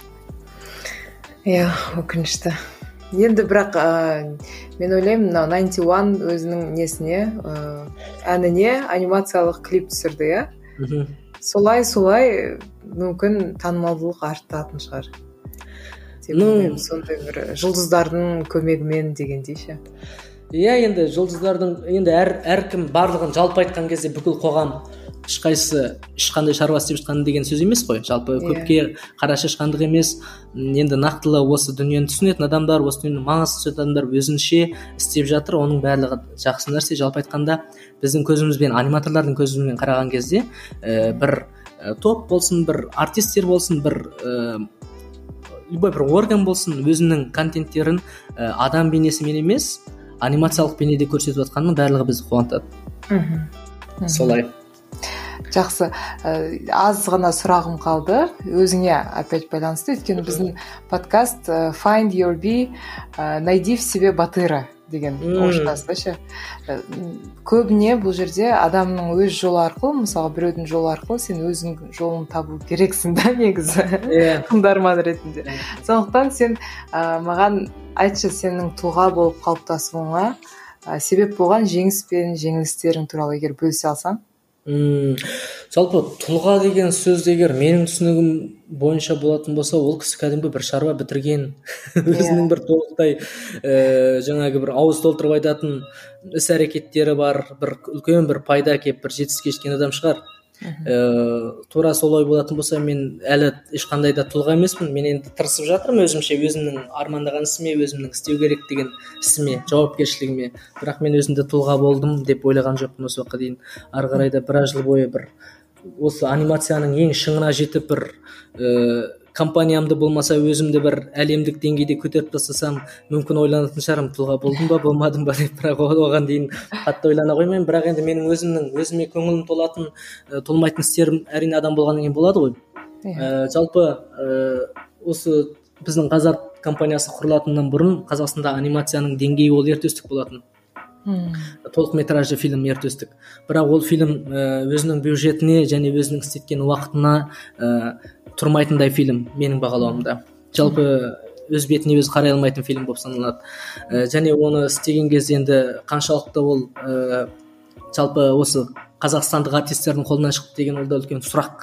Иә, өкінішті. Енді бірақ ә, мен ойлаймын, мына найнти уан өзінің несіне, ә, әніне анимациялық клип түсірді, иә? Солай-солай мүмкін танымалдылық артатын шығар. Ну, сондай бір жұлдыздардың көмегімен дегендей ше. Иә, енді жұлдыздардың, енді әр әркім барлығын жалпы айтқан кезде бүкіл қоғам ешқайсысы ешқандай шаруа істеп жатқан деген сөз емес қой. Жалпы көпке қара шашқандық емес. Енді нақтылы осы дүниені түсінетін адамдар, осы дүниені маңызды түсінетін адамдар өзінше істеп жатыр. Оның барлығы жақсы нәрсе. Жалпы айтқанда біздің көзімізбен, аниматорлардың көзімен қараған кезде ә, бір ә, топ болсын, бір артистер болсын, бір ә, любой бір орган болсын, өзінің контенттерін ә, адам бейнесімен емес, анимациялық бейнеде көрсетіп жатқанның барлығы бізді қуантады. Солай. Жақсы, аз ғана сұрағым қалды, өзіңе опять байланысты, өйткені біздің подкаст Find Your Bee, найди в себе батыра деген орысшасы ше. Көбіне бұл жерде адамның өз жолы арқылы, мысалы біреудің жолы арқылы сен өзің жолын табу керексің да негізі, тыңдарман ретінде. Сондықтан сен маған айтшы, сенің тұлға болып қалыптасуыңа себеп болған жеңіс пен жеңілістерің туралы егер бөлісе алсаң. М, жалпы тұлға деген сөз егер менің түсінігім бойынша болатын болса, ол кісі кәдімгі бір шаруа бітірген өзінің бір толықтай ә, жаңағы бір ауыз толтырып айтатын іс әрекеттері бар, бір үлкен бір пайда әкеліп бір жетістікке жеткен адам шығар. Ә, тура солай болатын болса, мен әлі ешқандай да тұлға емеспін. Мен енді тырысып жатырмын өзімше, өзімнің армандаған ісіме, өзімнің істеу керек деген ісіме, жауапкершілігіме. Бірақ мен өзімде тұлға болдым деп ойлаған жоқпын осы уақытқа дейін. Ары қарай да біраз жыл бойы бір осы анимацияның ең шыңына жетіп бір ә, компаниямды болмаса өзімді бір әлемдік деңгейде көтеріп тастасам, мүмкін ойланатын шығармын, тұлға болдым ба болмадым ба деп. Бірақ оған дейін қатты ойлана қоймаймын. Бірақ енді менің өзімнің өзіме көңілім толатын ә, толмайтын істерім әрине адам болғаннан кейін болады ғой. ә, жалпы ә, осы біздің Қазарт компаниясы құрылатыннан бұрын Қазақстанда анимацияның деңгейі ол ертөстік болатын. Толық метражды фильм ертөстік. Бірақ ол фильм ә, өзінің бюджетіне және өзінің істеткен уақытына ә, тұрмайтындай фильм менің бағалауымда. Жалпы өз бетіне өзі қарай алмайтын фильм болып саналады. Ә, және оны істеген кезде енді қаншалықты ол ә, жалпы осы қазақстандық артистердің қолынан шықты деген ол да үлкен сұрақ.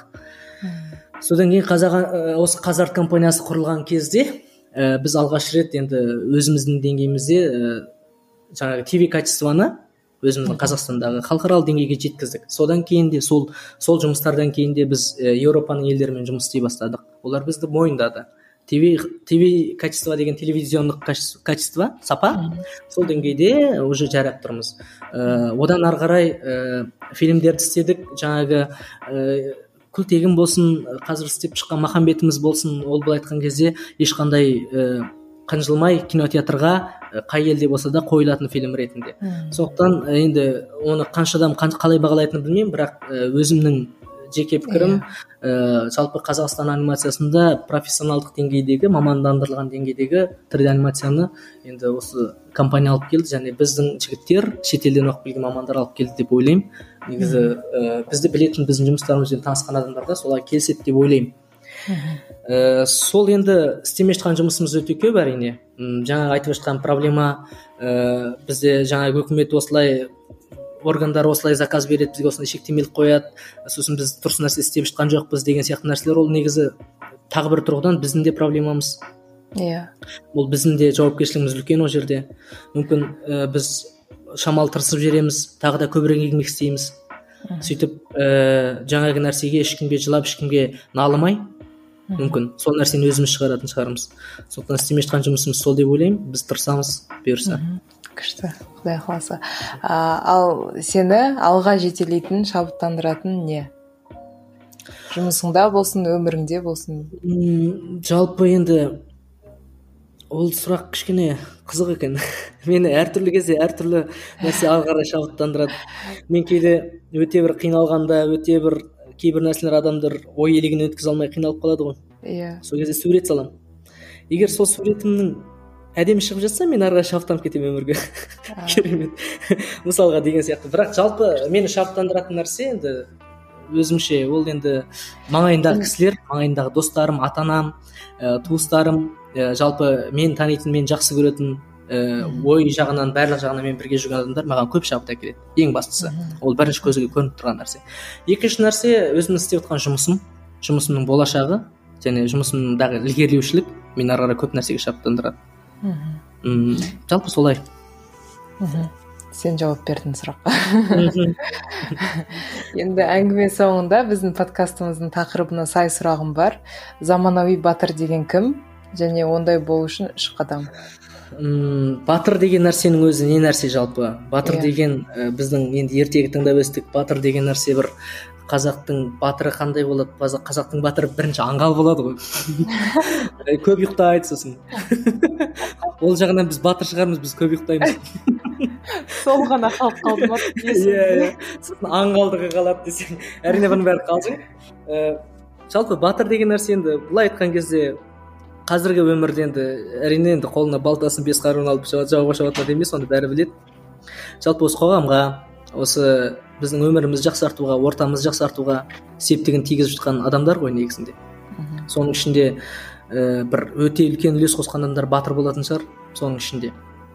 Содан кейін қазақ ә, осы Қазарт компаниясы құрылған кезде ә, біз алғаш рет енді өзіміздің деңгейімізде ә, жаңағы ти ви качествоны өзіміздің Қазақстандағы халықаралық деңгейге жеткіздік. Содан кейін де сол сол жұмыстардан кейін де біз ә, Еуропаның елдерімен жұмыс істей бастадық. Олар бізді мойындады. ти ви ти ви качество деген телевизиондық качество, сапа, сол деңгейде уже жарап тұрмыз. Ә, одан ары қарай ә, фильмдерді істедік. Жаңағы ә, Күлтегін болсын, қазір істеп шыққан Махамбетіміз болсын, ол былай айтқан кезде ешқандай ә, қынжылмай кинотеатрға қай елде болса да қойылатын фильм ретінде. Сондықтан енді оны қанша адам қалай бағалайтынын білмеймін, бірақ өзімнің жеке пікірім ә, жалпы Қазақстан анимациясында профессионалдық деңгейдегі, мамандандырылған деңгейдегі три дэ анимацияны енді осы компания алып келді, және біздің жігіттер шетелден оқып келген мамандар алып келді деп ойлаймын. Негізі ә, бізді білетін, біздің жұмыстарымызбен танысқан адамдар да солай келіседі деп ойлаймын. Ә, сол енді істемей жатқан жұмысымыз өте көп әрине. Жаңа айтып жатқан проблема ә, бізде жаңағы үкімет осылай, органдар осылай заказ береді, бізге осындай шектемелік қояды, сосын біз дұрыс нәрсе істеп жатқан жоқпыз деген сияқты нәрселер. Ол негізі тағы бір тұрғыдан біздің де проблемамыз. Иә. Ол біздің де жауапкершілігіміз үлкен ол жерде. Мүмкін ә, біз шамалы тырысып жібереміз, тағы да көбірек еңбек істейміз. Сөйтіп ә, жаңағы нәрсеге ешкімге жылап, ешкімге налымай, мүмкін сол нәрсені өзіміз шығаратын шығармыз. Сондықтан істемей жатқан жұмысымыз сол деп ойлаймын. Біз тырысамыз, бұйырса. Күшті, Құдай қаласа. Ал сені алға жетелейтін, шабыттандыратын не? Жұмысыңда болсын, өміріңде болсын? Жалпы енді ол сұрақ кішкене қызық екен. Мені әртүрлі кезде әртүрлі нәрсе ары қарай шабыттандырады. Мен кейде өте бір қиналғанда, өте бір кейбір нәрселер адамдар ой елегінен өткізе алмай қиналып қалады ғой. Иә. Сол кезде сурет саламын. Егер сол суретімнің әдемі шығып жатса, мен ары қарай шабыттанып кетемін өмірге. Керемет. Мысалға деген сияқты. Бірақ жалпы мені шабыттандыратын нәрсе енді өзімше ол енді маңайындағы кісілер, маңайындағы достарым, ата-анам, ә, туыстарым, ә, жалпы мен танитын, мен жақсы көретін, ә, ой жағынан, барлық жағынан мен бірге жүрген адамдар маған көп шабыт әкеледі. Ең бастысы. Ол бірінші көзге көрініп тұрған нәрсе. Екінші нәрсе өзімнің істеп жатқан жұмысым, жұмысымның болашағы және жұмысымдағы ілгерілеушілік мені ары қарай көп нәрсеге шабыттандырады. М-м, жалпы солай. Сен жауап бердің сұраққа. Енді әңгіме соңында біздің подкастымыздың тақырыбына сай сұрағым бар. Заманауи батыр деген кім? Және ондай болу үшін үш қадам. М-м, батыр деген нәрсенің өзі не нәрсе жалпы? Батыр yeah. деген ә, біздің енді ертегі тыңдап өстік. Батыр деген нәрсе бір қазақтың батыры қандай болады? Қазақтың батыры бірінші аңғал болады ғой. Көп ұйықтайды сосын. Ол жағынан біз батыр шығармыз, біз көп ұйықтаймыз. Сол ғана қалып қалды ма? Иә, сосын аңғалдығы қалады десең. Әрине бұның бәрі қалжың. Жалпы батыр деген нәрсе енді былай айтқан кезде қазіргі өмірде енді әрине енді қолына балтасын бес қаруын алып жауға шабатын емес, оны бәрі біледі. Жалпы осы қоғамға, осы біздің өмірімізді жақсартуға, ортамызды жақсартуға септігін тигізіп жатқан адамдар ғой негізінде. Соның ішінде ә, бір өте үлкен үлес қосқан адамдар батыр болатын шығар, соның ішінде.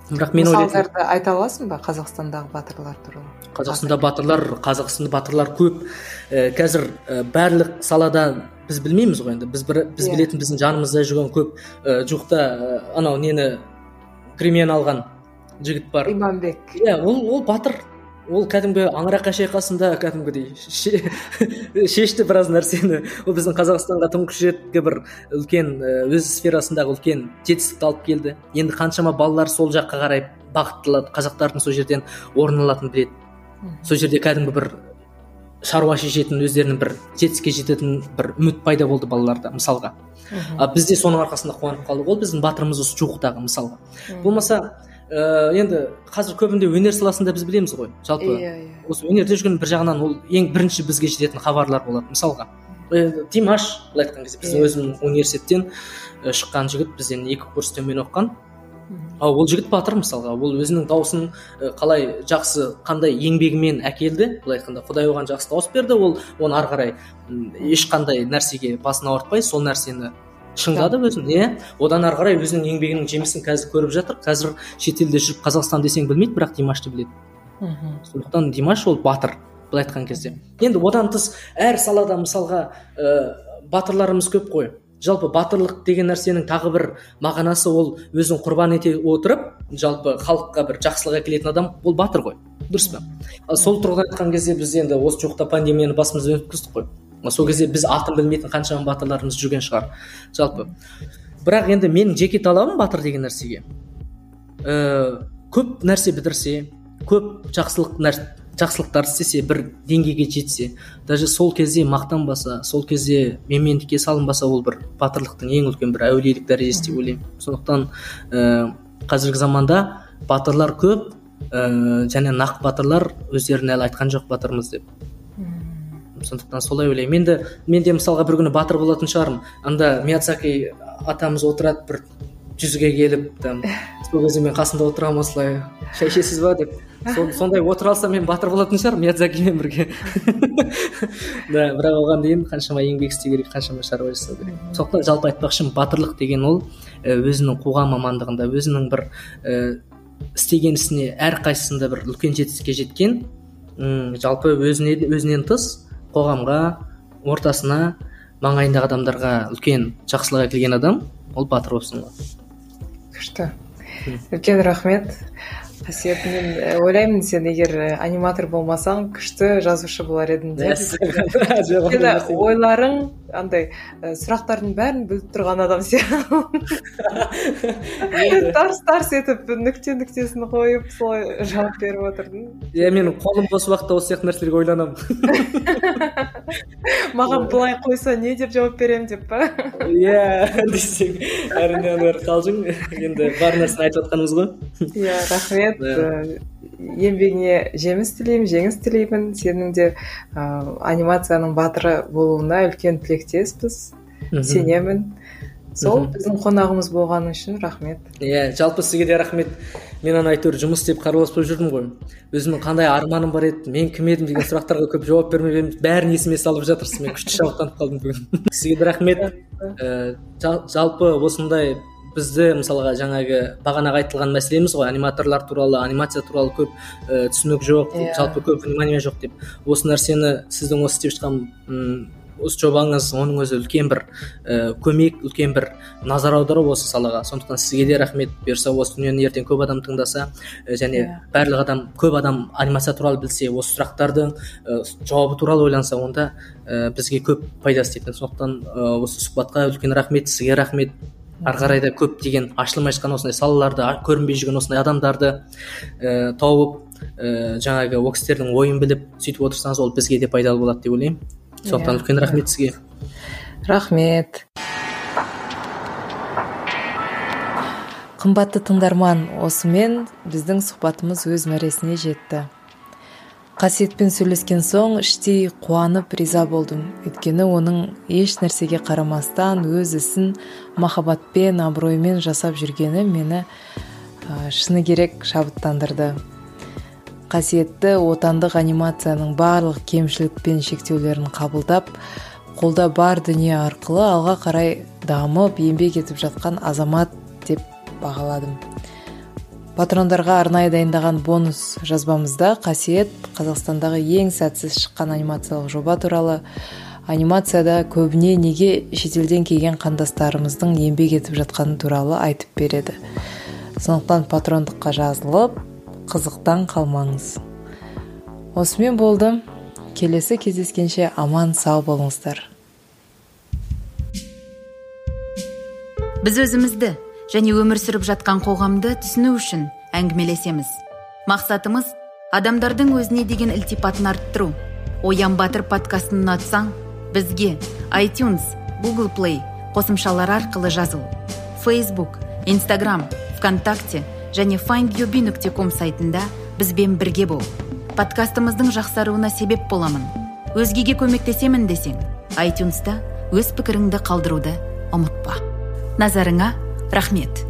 бірақ мен ойлаймын, мысалдарды айта аласың ба Қазақстандағы батырлар туралы? Қазақстанда батырлар, Қазақстанда батырлар көп. Ә, қазір ә, барлық салада біз білмейміз ғой енді. Біз бір, біз Иә. білетін біздің жанымызда жүрген көп ә, жуықта ә, анау нені премияны алған жігіт бар. Иманбек. Иә, ол ол батыр. Ол кәдімгі аңыраққа шайқасында кәдімгідей ше- шешті біраз нәрсені. Ол біздің Қазақстанға тұңғыш ретке бір үлкен ә, өз сферасындағы үлкен жетістікті алып келді. Енді қаншама балалар сол жаққа қарай бағытталады, қазақтардың сол жерден орын алатынын біледі. Сол жерде кәдімгі бір шаруа шешетін, өздерінің бір жетістікке жететін бір үміт пайда болды балаларда, мысалға. А бізде соның арқасында қуанып қалдық. Ол біздің батырымыз осы жуықтағы, мысалға. Болмаса ә, енді қазір көбінде өнер саласында біз білеміз ғой. Жалпы Иә, иә. осы өнерде жүрген бір жағынан ол ең бірінші бізге жететін хабарлар болады. Мысалға ә, Димаш, былай айтқан кезде біздің Иә. өзімнің университеттен ә, шыққан жігіт, бізден екі курс төмен оқыған. Ал ол жігіт батыр, мысалға. Ол өзінің дауысын ә, қалай жақсы, қандай еңбегімен әкелді, былай айтқанда Құдай оған жақсы дауыс берді. Ол оны ары қарай м, ешқандай нәрсеге басын ауыртпай сол нәрсені шыңдады өзін, иә. Одан ары қарай өзінің еңбегінің жемісін қазір көріп жатыр. Қазір шетелде жүріп Қазақстан десең білмейді, бірақ Димашты біледі. Мгм. Сондықтан Димаш ол батыр, былай айтқан кезде. Енді одан тыс әр салада мысалға ә, батырларымыз көп қой. Жалпы батырлық деген нәрсенің тағы бір мағынасы, ол өзін құрбан ете отырып, жалпы халыққа бір жақсылық әкелетін адам, ол батыр ғой. Дұрыс па? Ал сол тұрғыдан айтқан кезде біз енді осы жуықта пандемияны басымыздан өткіздік қой. Сол кезде біз атын білмейтін қаншама батырларымыз жүрген шығар. Жалпы. Бірақ енді менің жеке талабым батыр деген нәрсеге. Ә, көп нәрсе бітірсе, көп жақсылық нәрсе жақсылықтар істесе, бір деңгейге жетсе, даже сол кезде мақтанбаса, сол кезде менмендікке салынбаса, ол бір батырлықтың ең үлкен бір әулиелік дәрежесі деп ойлаймын. Сондықтан ә, қазіргі заманда батырлар көп, ә, және нақ батырлар өздеріне әлі айтқан жоқ батырмыз деп. Сондықтан солай ойлаймын. Енді мен де мысалға бір күні батыр болатын шығармын. Анда Миядзаки атамыз отырады бір жүзге келіп, там сол кезде мен қасында отырамын, осылай шай ішесіз ба деп. Сол- сондай отыра алсам мен батыр болатын шығармын Миядзакимен бірге. Да, бірақ оған дейін қаншама еңбек істеу керек, қаншама шаруа жасау керек. Сондықтан жалпы айтпақшымын, батырлық деген ол ә, өзінің қоғам мамандығында, өзінің бір ә, істеген ісіне әрқайсысында бір үлкен жетістікке жеткен, м, жалпы өзіне өзінен тыс қоғамға, ортасына, маңайындағы адамдарға үлкен жақсылық әкелген адам, ол батыр болып саналады. Күшті. Үлкен рахмет. Қасиет, мен э, ойлаймын, сен егер э, аниматор болмасаң, күшті жазушы болар едің деп. Өйткені ойларың андай э, сұрақтардың бәрін біліп тұрған адам сияқты. Тарс тарс етіп нүкте нүктесін қойып солай жауап беріп отырдың. Иә, мен қолым бос уақытта осы сияқты нәрселерге ойланамын. Маған былай қойса не деп жауап беремін деп па? Иә, десең, әрине ана қалжың, енді бар нәрсені айтып жатқанымыз ғой. Иә, рахмет. Э, еңбегіңе жеміс тілеймін, жеңіс тілеймін. Сенің де ә, анимацияның батыры болуына үлкен тілектеспіз. Сенемін. Сол біздің қонағымыз болғаны үшін рахмет. Иә, жалпы сізге де рахмет. Мен ана әйтеуір жұмыс істеп қарбаласпай жүрдім ғой. Өзімнің қандай арманым бар еді, мен кім едім деген сұрақтарға көп жауап бермеп едім. Бәрін есіме салып жатырсыз. Мен күшті шабыттанып қалдым бүгін. Сізге де рахмет. Ә, жал- жалпы осындай бізді мысалға жаңағы бағанағы айтылған мәселеміз ғой, аниматорлар туралы, анимация туралы көп ә, түсінік жоқ, Иә. жалпы көп внимание жоқ деп. Осы нәрсені сіздің осы істеп жатқан м, осы жобаңыз, оның өзі үлкен бір ә, көмек, үлкен бір назар аудару осы салаға. Сондықтан сізге де рахмет. Берса осы дүниені ертең көп адам тыңдаса, ә, және Иә. барлық адам, көп адам анимация туралы білсе, осы сұрақтардың ә, жауабы туралы ойланса, онда ә, бізге көп пайдасы тиетін. Сондықтан ә, осы сұхбатқа үлкен рахмет, сізге рахмет. Ары қарай да көп деген ашылмай жатқан осындай салаларды, а- көрінбей жүрген осындай адамдарды ә, тауып, ә, жаңағы ол кісілердің ойын біліп сөйтіп отырсаңыз, ол бізге де пайдалы болады деп ойлаймын. Сондықтан Иә. үлкен рахмет сізге. Рахмет. Қымбатты тыңдарман, осымен біздің сұхбатымыз өз мәресіне жетті. Қасиетпен сөйлескен соң іштей қуанып риза болдым. Өйткені оның еш нәрсеге қарамастан өз ісін махаббатпен, абыроймен жасап жүргені мені ә, шыны керек шабыттандырды. Қасиетті отандық анимацияның барлық кемшілік пен шектеулерін қабылдап, қолда бар дүние арқылы алға қарай дамып, еңбек етіп жатқан азамат деп бағаладым. Патрондарға арнайы дайындаған бонус жазбамызда Қасиет Қазақстандағы ең сәтсіз шыққан анимациялық жоба туралы, анимацияда көбіне неге шетелден келген қандастарымыздың еңбек етіп жатқаны туралы айтып береді. Сондықтан патрондыққа жазылып, қызықтан қалмаңыз. Осымен болды. Келесі кездескенше аман сау болыңыздар. Біз өзімізді және өмір сүріп жатқан қоғамды түсіну үшін әңгімелесеміз. Мақсатымыз адамдардың өзіне деген ілтипатын арттыру. Оян Батыр подкастын ұнатсаң, бізге iTunes, Google Play қосымшалар арқылы жазыл. Facebook, Instagram, ВКонтакте және findyourbe нүкте ком сайтында бізбен бірге бол. Подкастымыздың жақсаруына себеп боламын. Өзгеге көмектесемін десең, iTunes'та өз пікіріңді қалдыруды ұмытпа. Назарыңа рахмет.